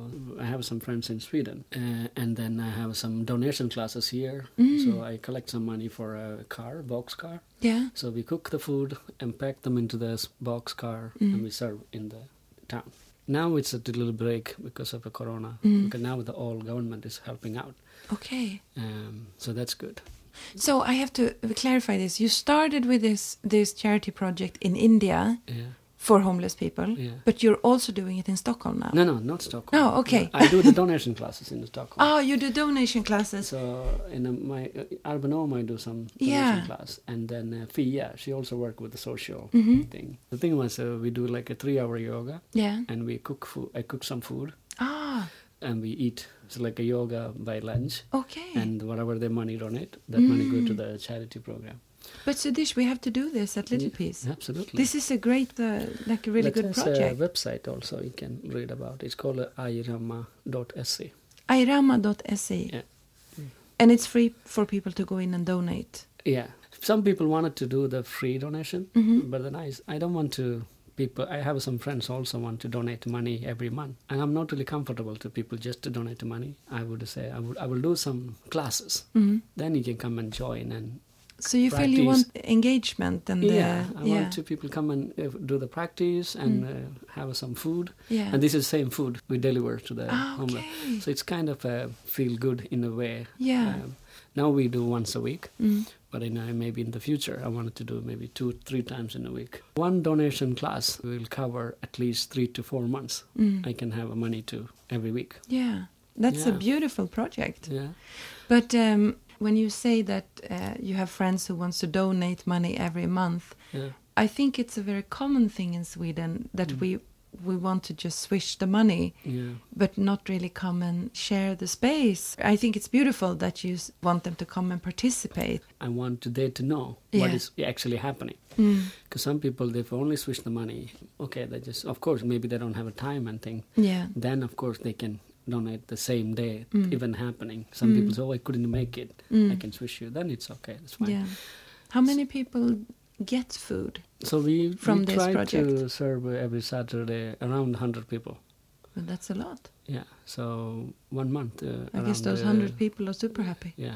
I have some friends in Sweden, uh, and then I have some donation classes here. Mm. So I collect some money for a car, box car. Yeah. So we cook the food and pack them into this box car, Mm. and we serve in the town. Now it's a little break because of the corona. Mm. Because now the whole government is helping out, Okay. um, so that's good. So I have to clarify this. You started with this this charity project in India Yeah, for homeless people, yeah. but you're also doing it in Stockholm now. No, no, not Stockholm. Oh, okay. I do the donation classes in Stockholm. Oh, you do donation classes. So in a, my uh, Urban Home, I do some donation Yeah. class, and then uh, Fia, she also work with the social Mhm. thing. The thing was, uh, we do like a three-hour yoga, Yeah. and we cook food. I cook some food, Ah, and we eat. It's like a yoga by lunch, okay. and whatever the money donate, that money go to Mm. the charity program. But Sudish, we have to do this at Little Yeah, Piece. Absolutely. This is a great, uh, like a really That good has project. a website also you can read about. It's called uh, airama dot se. airama dot se. Yeah. And it's free for people to go in and donate. Yeah. Some people wanted to do the free donation, Mhm. but then I, I don't want to. People, I have some friends also want to donate money every month, and I'm not really comfortable to people just to donate money. I would say I would I will do some classes. Mhm. Then you can come and join and So you feel you Practice. want engagement and yeah, uh, I yeah, want to people come and uh, do the practice and Mm. uh, have some food. yeah. And this is the same food we deliver to the Ah, homeless. okay. So it's kind of a feel good in a way. Yeah. Um, now we do once a week, Mm. but in, uh, maybe in the future I wanted to do maybe two, three times in a week. One donation class will cover at least three to four months. Mm. I can have money to every week. Yeah, that's a Yeah. beautiful project. Yeah. But um, when you say that uh, you have friends who wants to donate money every month, Yeah. I think it's a very common thing in Sweden that Mm. we we want to just swish the money, Yeah. but not really come and share the space. I think it's beautiful that you s- want them to come and participate. I want to they to know Yeah. what is actually happening. Mm. Because some people, they've only switched the money. Okay, they just, of course, maybe they don't have a time and thing. Yeah. Then, of course, they can donate the same day, Mm. even happening. Some Mm. people say, oh, I couldn't make it. Mm. I can swish you. Then it's okay. It's fine. Yeah. How many people get food? So we, From we this try project? to serve every Saturday around one hundred people. Well, that's a lot. Yeah. So one month. Uh, I guess around, those uh, hundred people are super happy. Yeah.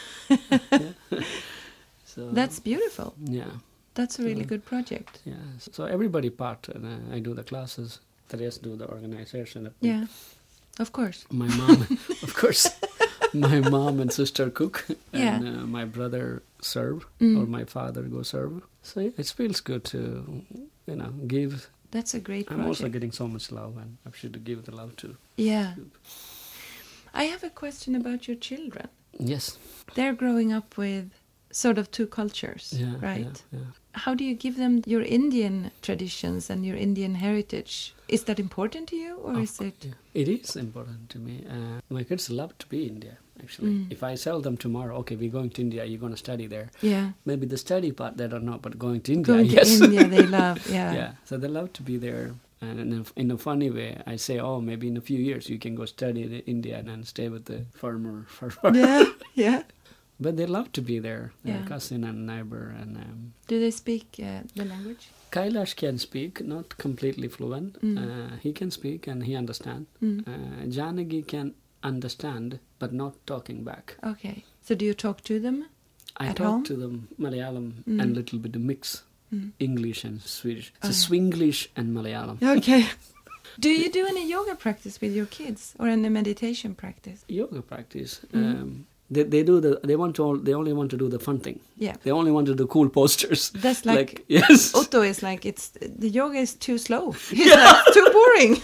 yeah. So That's beautiful. yeah. That's a really So- good project. Yeah. So, so everybody part, and uh, I do the classes. Therese do the organization. Yeah, of course. My mom, of course, my mom and sister cook, Yeah. and uh, my brother serve, Mm. or my father go serve. So yeah, it feels good to, you know, give. That's a great I'm project. also getting so much love, and I should give the love too. Yeah. I have a question about your children. Yes. They're growing up with sort of two cultures, Yeah. right? Yeah, yeah. how do you give them your Indian traditions and your Indian heritage? Is that important to you, or Of is it? Yeah. It is important to me. Uh, my kids love to be in India, actually. Mm. If I tell them tomorrow, okay, we're going to India, you're going to study there. Yeah. Maybe the study part they don't know, but going to India, Going yes. to India, they love. Yeah. Yeah, so they love to be there. And in a, in a funny way, I say, oh, maybe in a few years you can go study in India and then stay with the farmer. farmer. Yeah. Yeah. But they love to be there, their Yeah. cousin and neighbor. And um, Do they speak uh, the language? Kailash can speak, not completely fluent. Mm. Uh, he can speak and he understands. Mm. Uh, Janagi can understand, but not talking back. Okay. So do you talk to them? I At talk home? to them Malayalam Mm. and little bit of mix, Mm. English and Swedish. So Oh. Swinglish and Malayalam. Okay. Do you do any yoga practice with your kids, or any meditation practice? Yoga practice. Mm. Um, they they do the they want to all, they only want to do the fun thing. Yeah. They only want to do cool postures. That's like, yes. Otto is like, it's the yoga is too slow. He's like, too boring.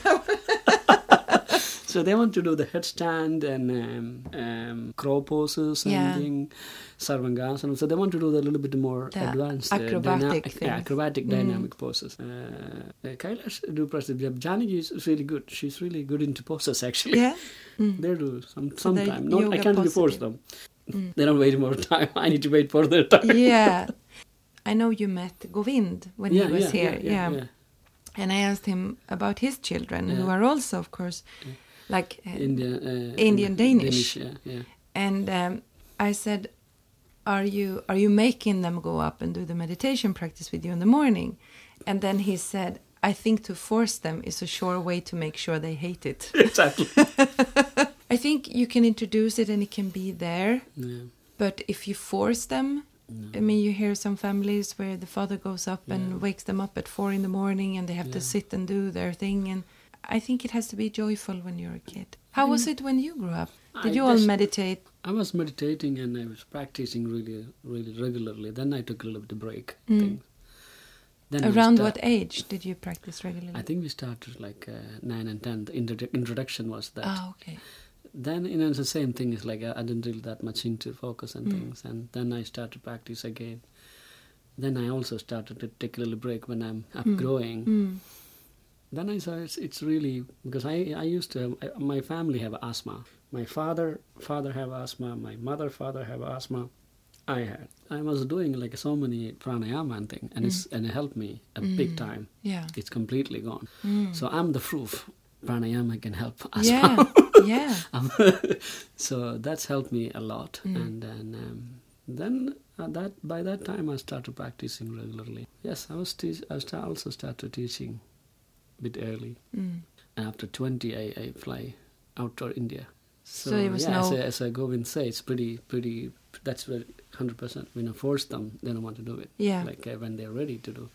So they want to do the headstand and um, um, crow poses and Yeah. thing, sarvangasana. So they want to do the little bit more The advanced acrobatic dyna- things. yeah, acrobatic Mm. dynamic poses. Uh, uh, Kailash do practice. Janagi is really good. She's really good into poses actually. Yeah. Mm. They do some So sometime. they're Not I yoga can't really force positive. them. Mm. They don't wait more time. I need to wait for their time. Yeah. I know you met Govind when yeah, he was yeah, here. Yeah, yeah, yeah. And I asked him about his children, who Yeah. are also, of course, Yeah. like uh, Indian, uh, Indian Danish. yeah, yeah. And um, I said, "Are you are you making them go up and do the meditation practice with you in the morning?" And then he said, "I think to force them is a sure way to make sure they hate it." Exactly. I think you can introduce it and it can be there, Yeah. but if you force them, No. I mean, you hear some families where the father goes up and Yeah. wakes them up at four in the morning, and they have to Yeah. sit and do their thing. And I think it has to be joyful when you're a kid. How was it when you grew up? Did I you all just- meditate? I was meditating and I was practicing really, really regularly. Then I took a little bit of break. Mm. Thing. Then we Around start- what age did you practice regularly? I think we started like uh, nine and ten. The introdu- introduction was that. Ah, okay. Then you know it's the same thing. It's like I, I didn't really that much into focus and Mm. things. And then I started to practice again. Then I also started to take a little break when I'm upgrowing. Mm. Then I saw it's, it's really because I I used to have, I, my family have asthma. My father father have asthma. My mother father have asthma. I had. I was doing like so many pranayama and thing, and it's and it helped me a big Mm. time. Yeah. It's completely gone. Mm. So I'm the proof. Pranayama can help asthma. Yeah. Yeah. Um, so that's helped me a lot. Mm. And then um, then uh, that by that time I started practicing regularly. Yes, I was teach, I sta- also started teaching a bit early. Mm. And after twenty, I, I fly out to India. So, So it was yeah, as, no- I, as I go and say, it's pretty, pretty. That's where hundred percent. When I force them, they don't want to do it. Yeah. Like uh, when they're ready to do.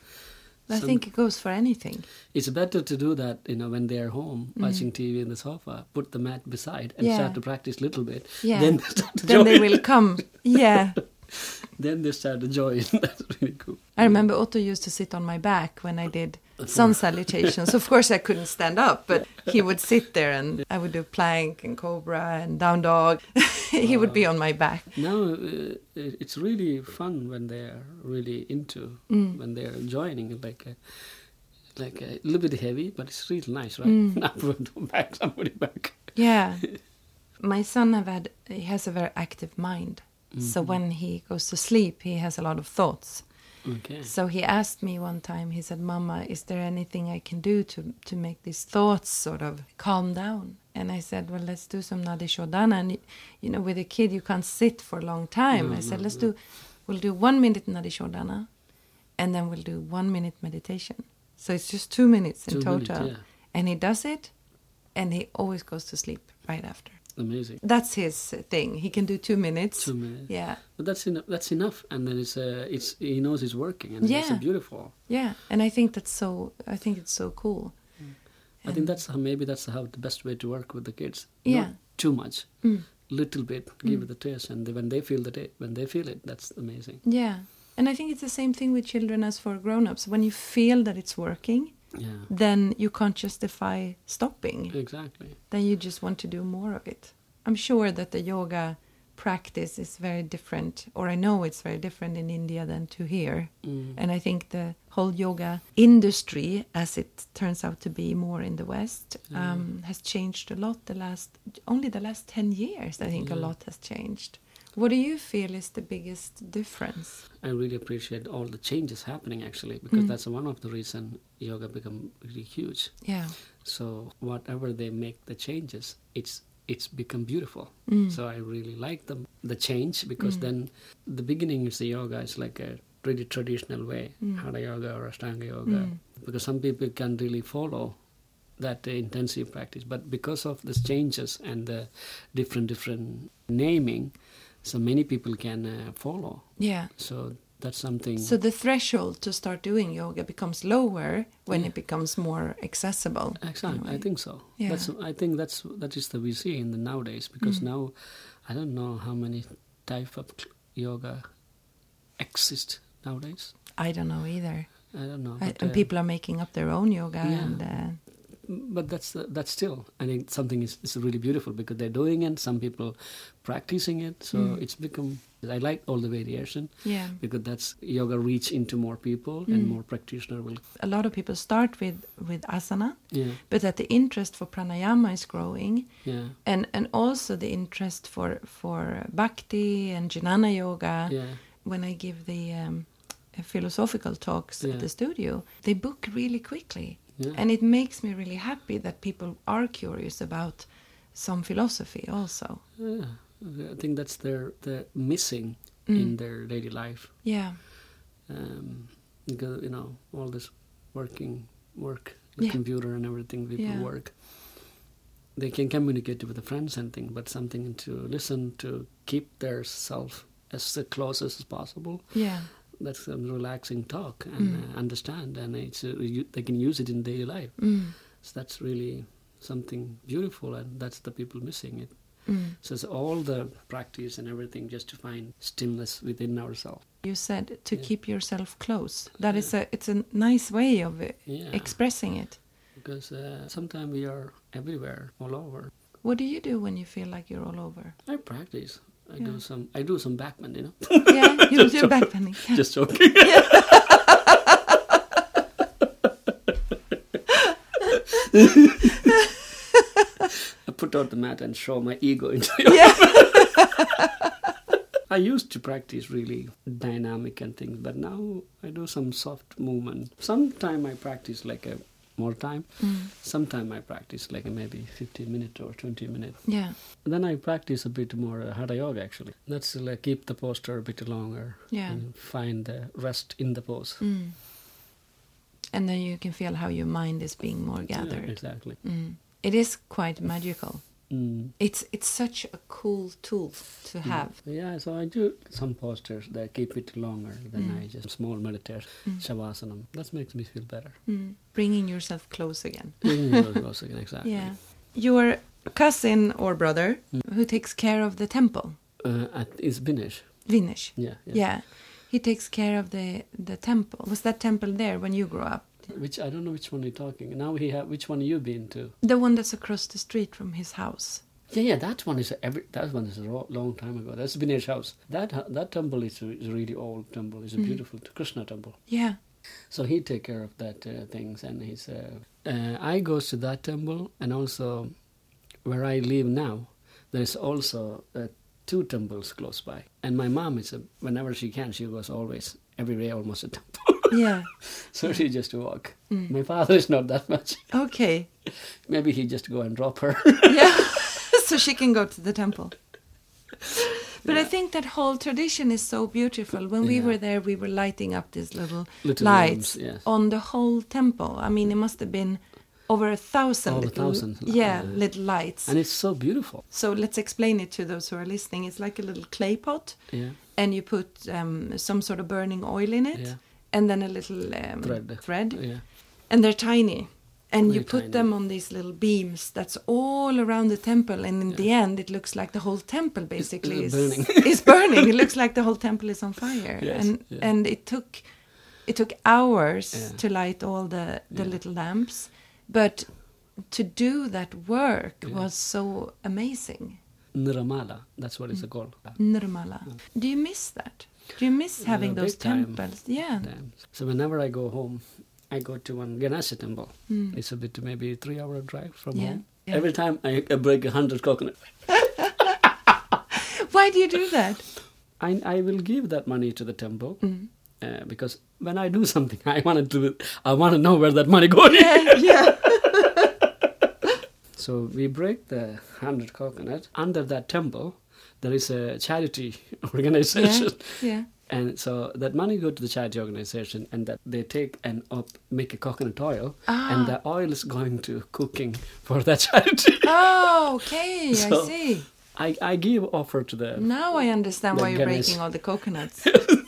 I Some- think it goes for anything. it's better to do that, you know, when they're home Mm. watching T V in the sofa. Put the mat beside and Yeah. start to practice a little bit. Yeah. Then they start to Then they join. will come. Yeah. Then they start to join. That's really cool. I remember Otto used to sit on my back when I did sun salutations. Of course, I couldn't stand up, but he would sit there and I would do plank and cobra and down dog. He would be on my back. Now uh, it's really fun when they're really into, Mm. when they're joining. Like a, like a little bit heavy, but it's really nice, right? Mm. Now put them back, somebody back. Yeah. My son have had, he has a very active mind. So Mhm. when he goes to sleep, he has a lot of thoughts. Okay. So he asked me one time, he said, "Mama, is there anything I can do to, to make these thoughts sort of calm down?" And I said, "Well, let's do some Nadi Shodhana." And, you know, with a kid, you can't sit for a long time. No, I said, no, let's no. do, we'll do one minute Nadi Shodhana, and then we'll do one minute meditation. So it's just two minutes in Two total. minutes, yeah. And he does it, and he always goes to sleep right after. Amazing. That's his thing. He can do two minutes. Two minutes. Yeah. But that's enough. That's enough, and then it's uh, it's he knows it's working, and it's Yeah. uh, beautiful. Yeah. And I think that's so, I think it's so cool. I think that's how maybe that's how the best way to work with the kids. Yeah. Not too much, Mm. little bit, give Mm. it a taste, and they, when they feel the ta- when they feel it, that's amazing. Yeah. And I think it's the same thing with children as for grown-ups. When you feel that it's working, Yeah, then you can't justify stopping. exactly. Then you just want to do more of it. I'm sure that the yoga practice is very different, or I know it's very different in India than to here. Mm. And I think the whole yoga industry, as it turns out to be more in the West, Yeah. um, has changed a lot the last, only the last ten years, I think Yeah. a lot has changed. What do you feel is the biggest difference? I really appreciate all the changes happening actually, because Mm. that's one of the reason yoga become really huge. Yeah. So whatever they make the changes, it's it's become beautiful. Mm. So I really like the the change, because Mm. then the beginning is the yoga is like a really traditional way, Mm. Hatha yoga or Ashtanga yoga, Mm. because some people can really follow that uh, intensive practice, but because of these changes and the different different naming, so many people can uh, follow. Yeah. So that's something. So the threshold to start doing yoga becomes lower when Yeah. it becomes more accessible. in a Exactly, way. I think so. Yeah. That's I think that's that is the we see in the nowadays, because Mm. now I don't know how many type of yoga exist nowadays. I don't know either. I don't know. I, but, and uh, people are making up their own yoga, Yeah. and uh, But that's uh, that's still I think something is, is really beautiful, because they're doing it. Some people practicing it, so Mm. it's become. I like all the variation, yeah, because that's yoga reach into more people and Mm. more practitioner will. a lot of people start with with asana, Yeah, but that the interest for pranayama is growing, yeah, and and also the interest for for bhakti and jnana yoga. yeah. When I give the um, philosophical talks Yeah. at the studio, they book really quickly. Yeah. And it makes me really happy that people are curious about some philosophy also. Yeah, I think that's their the missing Mm. in their daily life. Yeah. Um, because you know all this working work, the Yeah. computer and everything, people Yeah. work. They can communicate with the friends and thing, but something to listen to, keep their self as close as possible. Yeah. That's a relaxing talk and Mm. uh, understand, and it's uh, you, they can use it in daily life. Mm. So that's really something beautiful, and that's the people missing it. Mm. So it's all the practice and everything just to find stillness within ourselves. You said to Yeah. keep yourself close. That is a it's a nice way of uh, Yeah. expressing it. Because uh, sometimes we are everywhere, all over. What do you do when you feel like you're all over? I practice. I Yeah. do some. I do some backbend, you know. Yeah, you Just do joking. backbending. Yeah. Just joking. I put out the mat and show my ego into it. Yeah. I used to practice really dynamic and things, but now I do some soft movement. Sometime I practice like a more time. Mm. Sometime I practice like a maybe fifteen minute or twenty minute. Yeah. Then I practice a bit more uh, Hatha yoga actually. That's to like keep the posture a bit longer. Yeah. And find the rest in the pose. Mm. And then you can feel how your mind is being more Yeah, gathered. exactly. Mm. It is quite magical. Mm. It's it's such a cool tool to have. Yeah, so I do some postures that keep it longer than Mm. I just small meditation, Mm. shavasana. That makes me feel better. Mm. Bringing yourself close again. Mm, also, exactly. Yeah. Your cousin or brother Mm. who takes care of the temple, Uh, at, it's Vinesh. Vinesh. Yeah, yeah. Yeah. He takes care of the, the temple. Was that temple there when you grew up? Which I don't know which one you're talking. Now he have which one you been to? The one that's across the street from his house. Yeah, yeah. That one is a every. That one is a ro- long time ago. That's Vinesh house. That hu- that temple is a, is a really old temple. It's a Mm. beautiful Krishna temple. Yeah. So he take care of that uh, things, and he's. Uh, uh, I goes to that temple, and also where I live now, there is also uh, two temples close by. And my mom is a, whenever she can, she goes always every day almost a temple. Yeah. So she just walk. Mm. My father is not that much. Okay. Maybe he just go and drop her. Yeah. So she can go to the temple. But I Yeah. think that whole tradition is so beautiful. When we Yeah. were there, we were lighting up these little, Little lights lamps, yes. on the whole temple. I mean, it must have been over a thousand Over a little, thousand, yeah, yeah. little lights. And it's so beautiful. So let's explain it to those who are listening. It's like a little clay pot, Yeah. and you put um, some sort of burning oil in it, Yeah. and then a little um, Thread. thread, Yeah. and they're tiny. And you Very put tiny. them on these little beams that's all around the temple, and in the end, it looks like the whole temple basically it's is burning. is burning. It looks like the whole temple is on fire, Yes, and yeah. and it took it took hours Yeah. to light all the the Yeah. little lamps, but to do that work Yeah. was so amazing. Nirmala. That's what it's Mm. called. Nirmala. Yeah. Do you miss that? Do you miss having Yeah, those big time. temples? Yeah. Damn. So whenever I go home, I go to one Ganesha temple. Mm. It's a bit maybe three hour drive from Yeah. home. Yeah. Every time I, I break a hundred coconut, Why do you do that? I I will give that money to the temple Mm. uh, because when I do something, I want to I want to know where that money goes. Yeah, yeah. So we break the hundred coconut. Under that temple, there is a charity organization. Yeah. And so that money go to the charity organization, and that they take and up make a coconut oil, Ah. and the oil is going to cooking for that charity. Oh, okay. I So- see. I, I give offer to the. Now I understand the why you're Ganesh. breaking all the coconuts.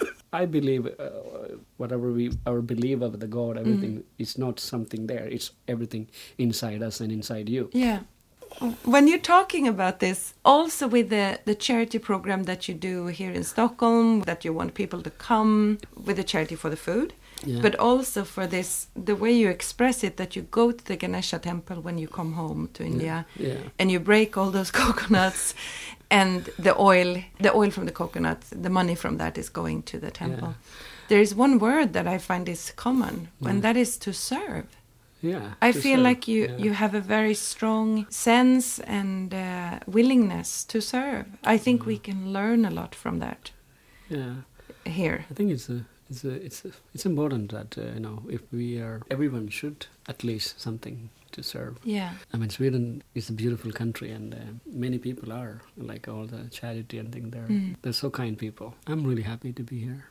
I believe uh, whatever we our belief of the God, everything Mm. is not something there. It's everything inside us and inside you. Yeah. When you're talking about this, also with the, the charity program that you do here in Stockholm, that you want people to come with the charity for the food, Yeah. but also for this, the way you express it, that you go to the Ganesha temple when you come home to India, Yeah. and you break all those coconuts, and the oil, the oil from the coconut, the money from that is going to the temple. Yeah. There is one word that I find is common, and Yeah. that is to serve. Yeah. I to feel serve. like you, Yeah. you have a very strong sense and uh, willingness to serve. I think we can learn a lot from that Yeah. here. I think it's a, it's a, it's a, it's important that uh, you know, if we are, everyone should at least something to serve. Yeah. I mean, Sweden is a beautiful country, and uh, many people are like all the charity and thing. They're Mm. they're so kind people. I'm really happy to be here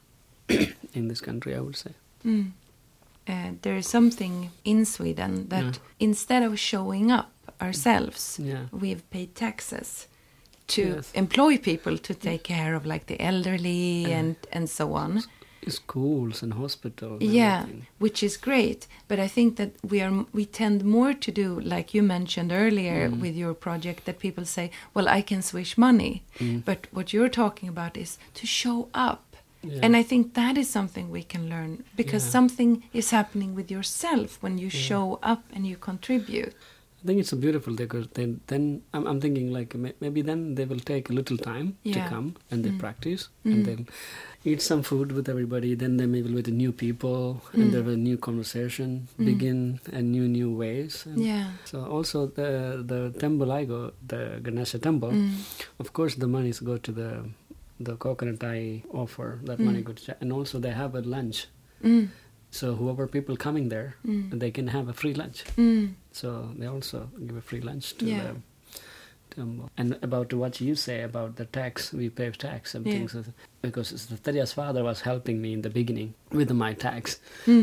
in this country, I would say. Mm. Uh, there is something in Sweden that Yeah. instead of showing up ourselves, Yeah. we've paid taxes to Yes. employ people to take care of like the elderly Uh, and, and so on. Schools and hospitals. And Yeah, everything. which is great, but I think that we are we tend more to do like you mentioned earlier Mm. with your project, that people say, well, I can swish money, Mm. but what you're talking about is to show up. Yeah. And I think that is something we can learn, because Yeah. something is happening with yourself when you Yeah. show up and you contribute. I think it's a beautiful thing, because then, then I'm, I'm thinking like may- maybe then they will take a little time Yeah. to come and they Mm. practice Mm. and they'll eat some food with everybody. Then they maybe with the new people Mm. and there will a new conversation Mm. begin and new new ways. And Yeah. So also the the temple I go, the Ganesha temple, Mm. of course the monies go to the the coconut I offer. That Mm. money go to cha- and also they have a lunch. Mm. So whoever people coming there, Mm. they can have a free lunch. Mm. So they also give a free lunch to Yeah. the temple. And about what you say about the tax, we pay tax and Yeah. things. Because Terja's father was helping me in the beginning with my tax. Mm.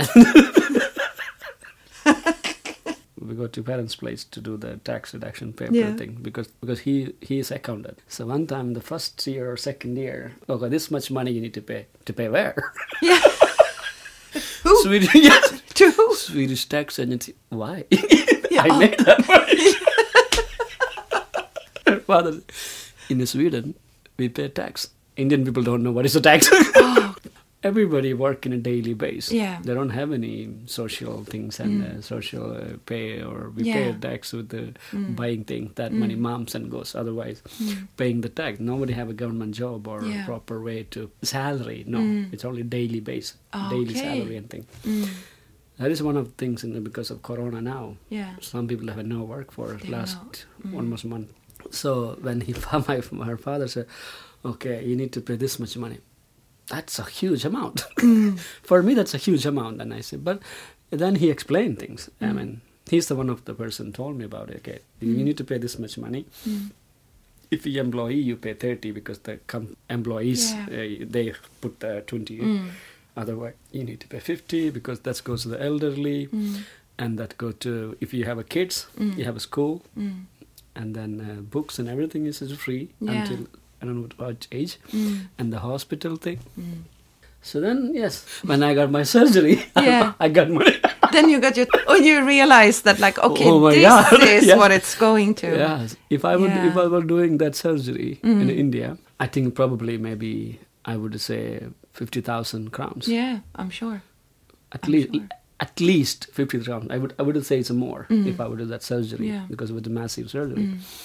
We go to parents' place to do the tax reduction paper Yeah. thing because because he he is accountant. So one time, the first year or second year, okay, this much money you need to pay. To pay where? Yeah. Who? Swedish, yes. To who? Swedish tax agency. Why? Yeah. I made that money. Father, in Sweden, we pay tax. Indian people don't know what is a tax. Oh. Everybody work in a daily base. Yeah. They don't have any social things and Mm. uh, social uh, pay, or we Yeah. pay tax with the Mm. buying thing. That Mm. money moms and goes. Otherwise, Mm. paying the tax. Nobody have a government job or Yeah. a proper way to salary. No, Mm. it's only daily base, Ah, daily okay. salary and thing. Mm. That is one of the things in the, because of Corona now. Yeah. Some people have no work for They last know. Mm. almost month. So when he my her father said, "Okay, you need to pay this much money," that's a huge amount. Mm. For me, that's a huge amount. And I said, but then he explained things. I Mm. mean, he's the one of the person told me about it. Okay, Mm. you need to pay this much money. Mm. If you employee, you pay thirty because the com- employees Yeah. uh, they put the twenty. Mm. Otherwise, you need to pay fifty because that goes to the elderly, Mm. and that go to if you have a kids, Mm. you have a school, Mm. and then uh, books and everything is is free Yeah. until I don't know what age, Mm. and the hospital thing. Mm. So then, yes, when I got my surgery, Yeah. I got money. Then you got your, oh, you realized that, like, okay, Oh my this God. is Yeah. what it's going to. Yes, if I would, Yeah. if I were doing that surgery Mm. in India, I think probably maybe I would say fifty thousand crowns. Yeah, I'm sure. At I'm least, sure. at least fifty crowns. I would, I wouldn't say it's more Mm. if I would do that surgery Yeah. because with the massive surgery. Mm.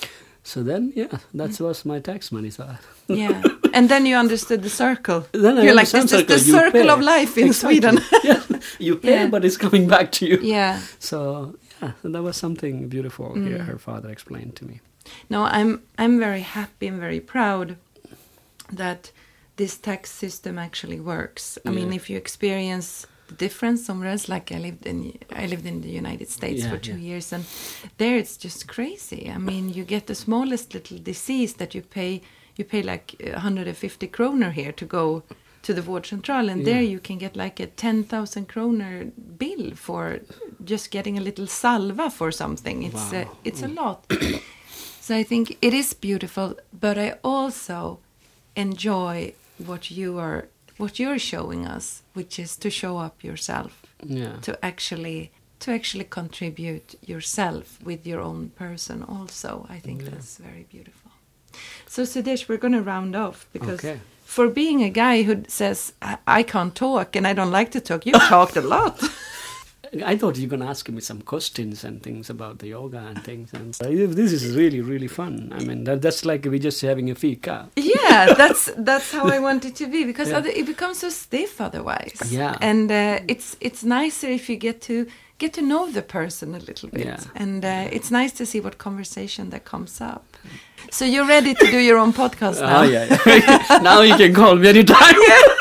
So then, yeah, that was my tax money. So yeah, and then you understood the circle. Then I You're like, this circle. is the You circle pay. of life in Exactly. Sweden. Yeah, you pay, Yeah. but it's coming back to you. Yeah. So yeah, that was something beautiful. Mm. Here, her father explained to me. No, I'm I'm very happy and very proud that this tax system actually works. I mean, Yeah. if you experience the difference somewhere else, like I lived in I lived in the United States Yeah, for two yeah. years, and there it's just crazy. I mean, you get the smallest little disease that you pay you pay like one hundred fifty kroner here to go to the vårdcentral, and there Yeah. you can get like a ten thousand kroner bill for just getting a little salva for something. It's Wow. a, it's a lot. So I think it is beautiful, but I also enjoy what you are what you're showing us, which is to show up yourself, Yeah. to actually to actually contribute yourself with your own person also. I think Yeah. that's very beautiful. So Sudesh, we're going to round off because Okay. for being a guy who says I, I can't talk and I don't like to talk, you talked a lot. I thought you were going to ask me some questions and things about the yoga and things. And uh, this is really, really fun. I mean, that, that's like we're just having a fika. Yeah, that's that's how I want it to be, because Yeah. other, it becomes so stiff otherwise. Yeah. And uh, it's it's nicer if you get to get to know the person a little bit. Yeah. And uh, it's nice to see what conversation that comes up. So you're ready to do your own podcast now? Oh, yeah. yeah. Now you can call me anytime.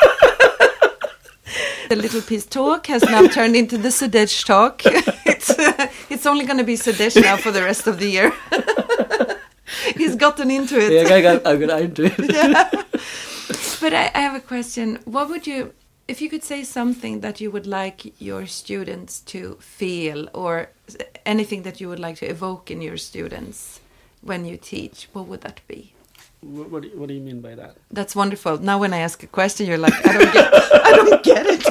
The Little Piece Talk has now turned into the Sudesh Talk. It's uh, it's only going to be Sudesh now for the rest of the year. He's gotten into it. Yeah, I got, I got into it. Yeah. But I, I have a question. What would you, if you could say something that you would like your students to feel, or anything that you would like to evoke in your students when you teach, what would that be? What, what, do you, what do you mean by that? That's wonderful. Now when I ask a question, you're like, I don't get, I don't get it.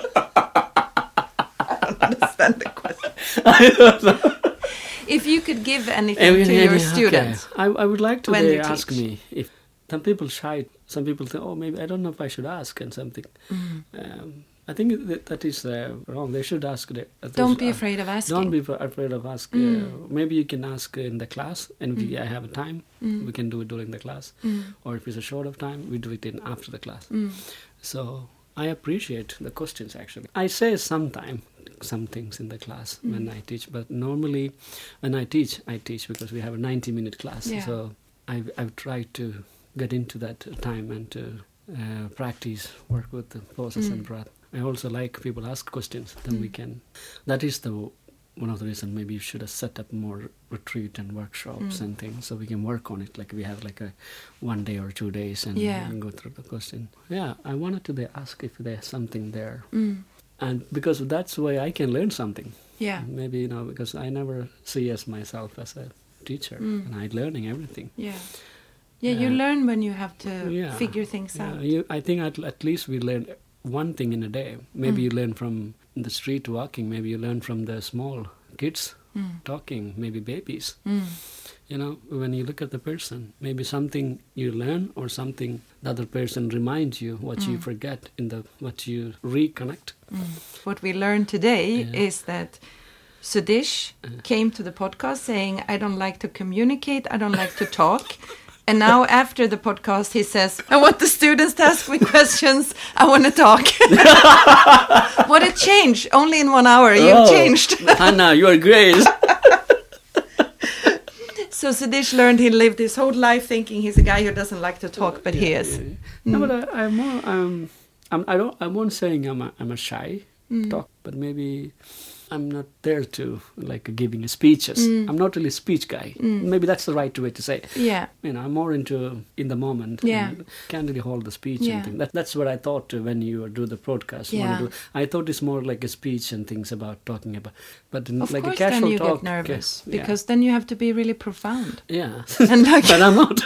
I don't understand the question. I don't know. If you could give anything I mean, to yeah, your yeah, students, okay. I, I would like to when they you ask teach. me if some people shy. Some people think, oh, maybe I don't know if I should ask and something. Mm. Um, I think that, that is uh, wrong. They should ask. The, uh, they don't should be ask. afraid of asking. Don't be f- afraid of asking. Mm. Uh, maybe you can ask in the class, and if Mm. I have a time, Mm. we can do it during the class. Mm. Or if it's a short of time, we do it in after the class. Mm. So I appreciate the questions. Actually, I say sometime some things in the class Mm. when I teach, but normally when I teach, I teach because we have a ninety minute class. Yeah. So I've, I've tried to get into that time and to uh, practice, work with the poses Mm. and breath. I also like people ask questions, then we Mm. can. That is the one of the reasons maybe you should have set up more retreat and workshops Mm. and things so we can work on it. Like we have like a one day or two days and, Yeah. and go through the question. Yeah, I wanted to they ask if there's something there, Mm. and because that's why I can learn something. Yeah. Maybe you know because I never see as myself as a teacher, Mm. and I'm learning everything. Yeah. Yeah, you Uh, learn when you have to yeah, figure things Yeah, out. you, I think at, at least we learn one thing in a day. Maybe Mm. you learn from the street walking. Maybe you learn from the small kids Mm. talking. Maybe babies. Mm. You know, when you look at the person, maybe something you learn or something the other person reminds you what you Mm. forget in the what you reconnect. Mm. What we learned today Yeah. is that Sudesh Uh. came to the podcast saying, I don't like to communicate, I don't like to talk. And now after the podcast, he says, I want the students to ask me questions, I want to talk. What a change. Only in one hour, you've Oh, changed. Hannah, you are great. So Sudesh learned he lived his whole life thinking he's a guy who doesn't like to talk, but he Yeah, is. yeah, yeah. No, Mm. but I, I'm more. Um, I'm. I don't. I won't saying I'm. A, I'm a shy Mm. talk, but maybe I'm not there to like giving speeches. Mm. I'm not really a speech guy. Mm. Maybe that's the right way to say. Yeah. You know, I'm more into in the moment. Yeah. And can't really hold the speech Yeah. and things. That, that's what I thought uh, when you do the podcast. Yeah. wanna do- I thought it's more like a speech and things about talking about, but in, Of like course, a casual then you talk. get nervous yeah. because then you have to be really profound. Yeah. And like, But I'm not.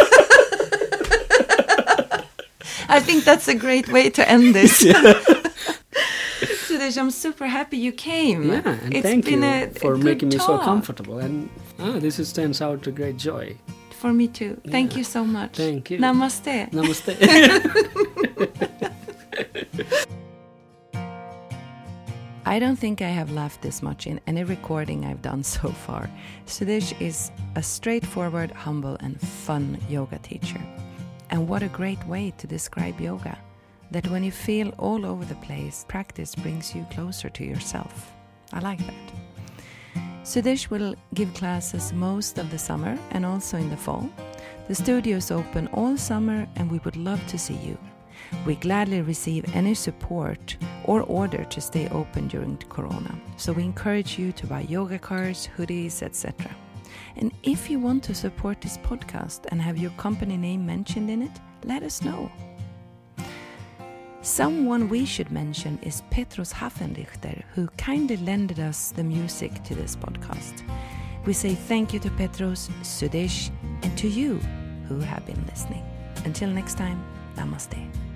I think that's a great way to end this. Sudesh, I'm super happy you came. Yeah, and It's thank been you a, for a good making me so talk. comfortable. And ah, this is, turns out a great joy. For me too. Thank Yeah. you so much. Thank you. Namaste. Namaste. I don't think I have laughed this much in any recording I've done so far. Sudesh is a straightforward, humble and fun yoga teacher. And what a great way to describe yoga. That when you feel all over the place, practice brings you closer to yourself. I like that. Sudesh will give classes most of the summer and also in the fall. The studio is open all summer and we would love to see you. We gladly receive any support or order to stay open during the Corona. So we encourage you to buy yoga cards, hoodies, et cetera. And if you want to support this podcast and have your company name mentioned in it, let us know. Someone we should mention is Petros Hafenrichter, who kindly lended us the music to this podcast. We say thank you to Petros, Sudesh, and to you who have been listening. Until next time, namaste.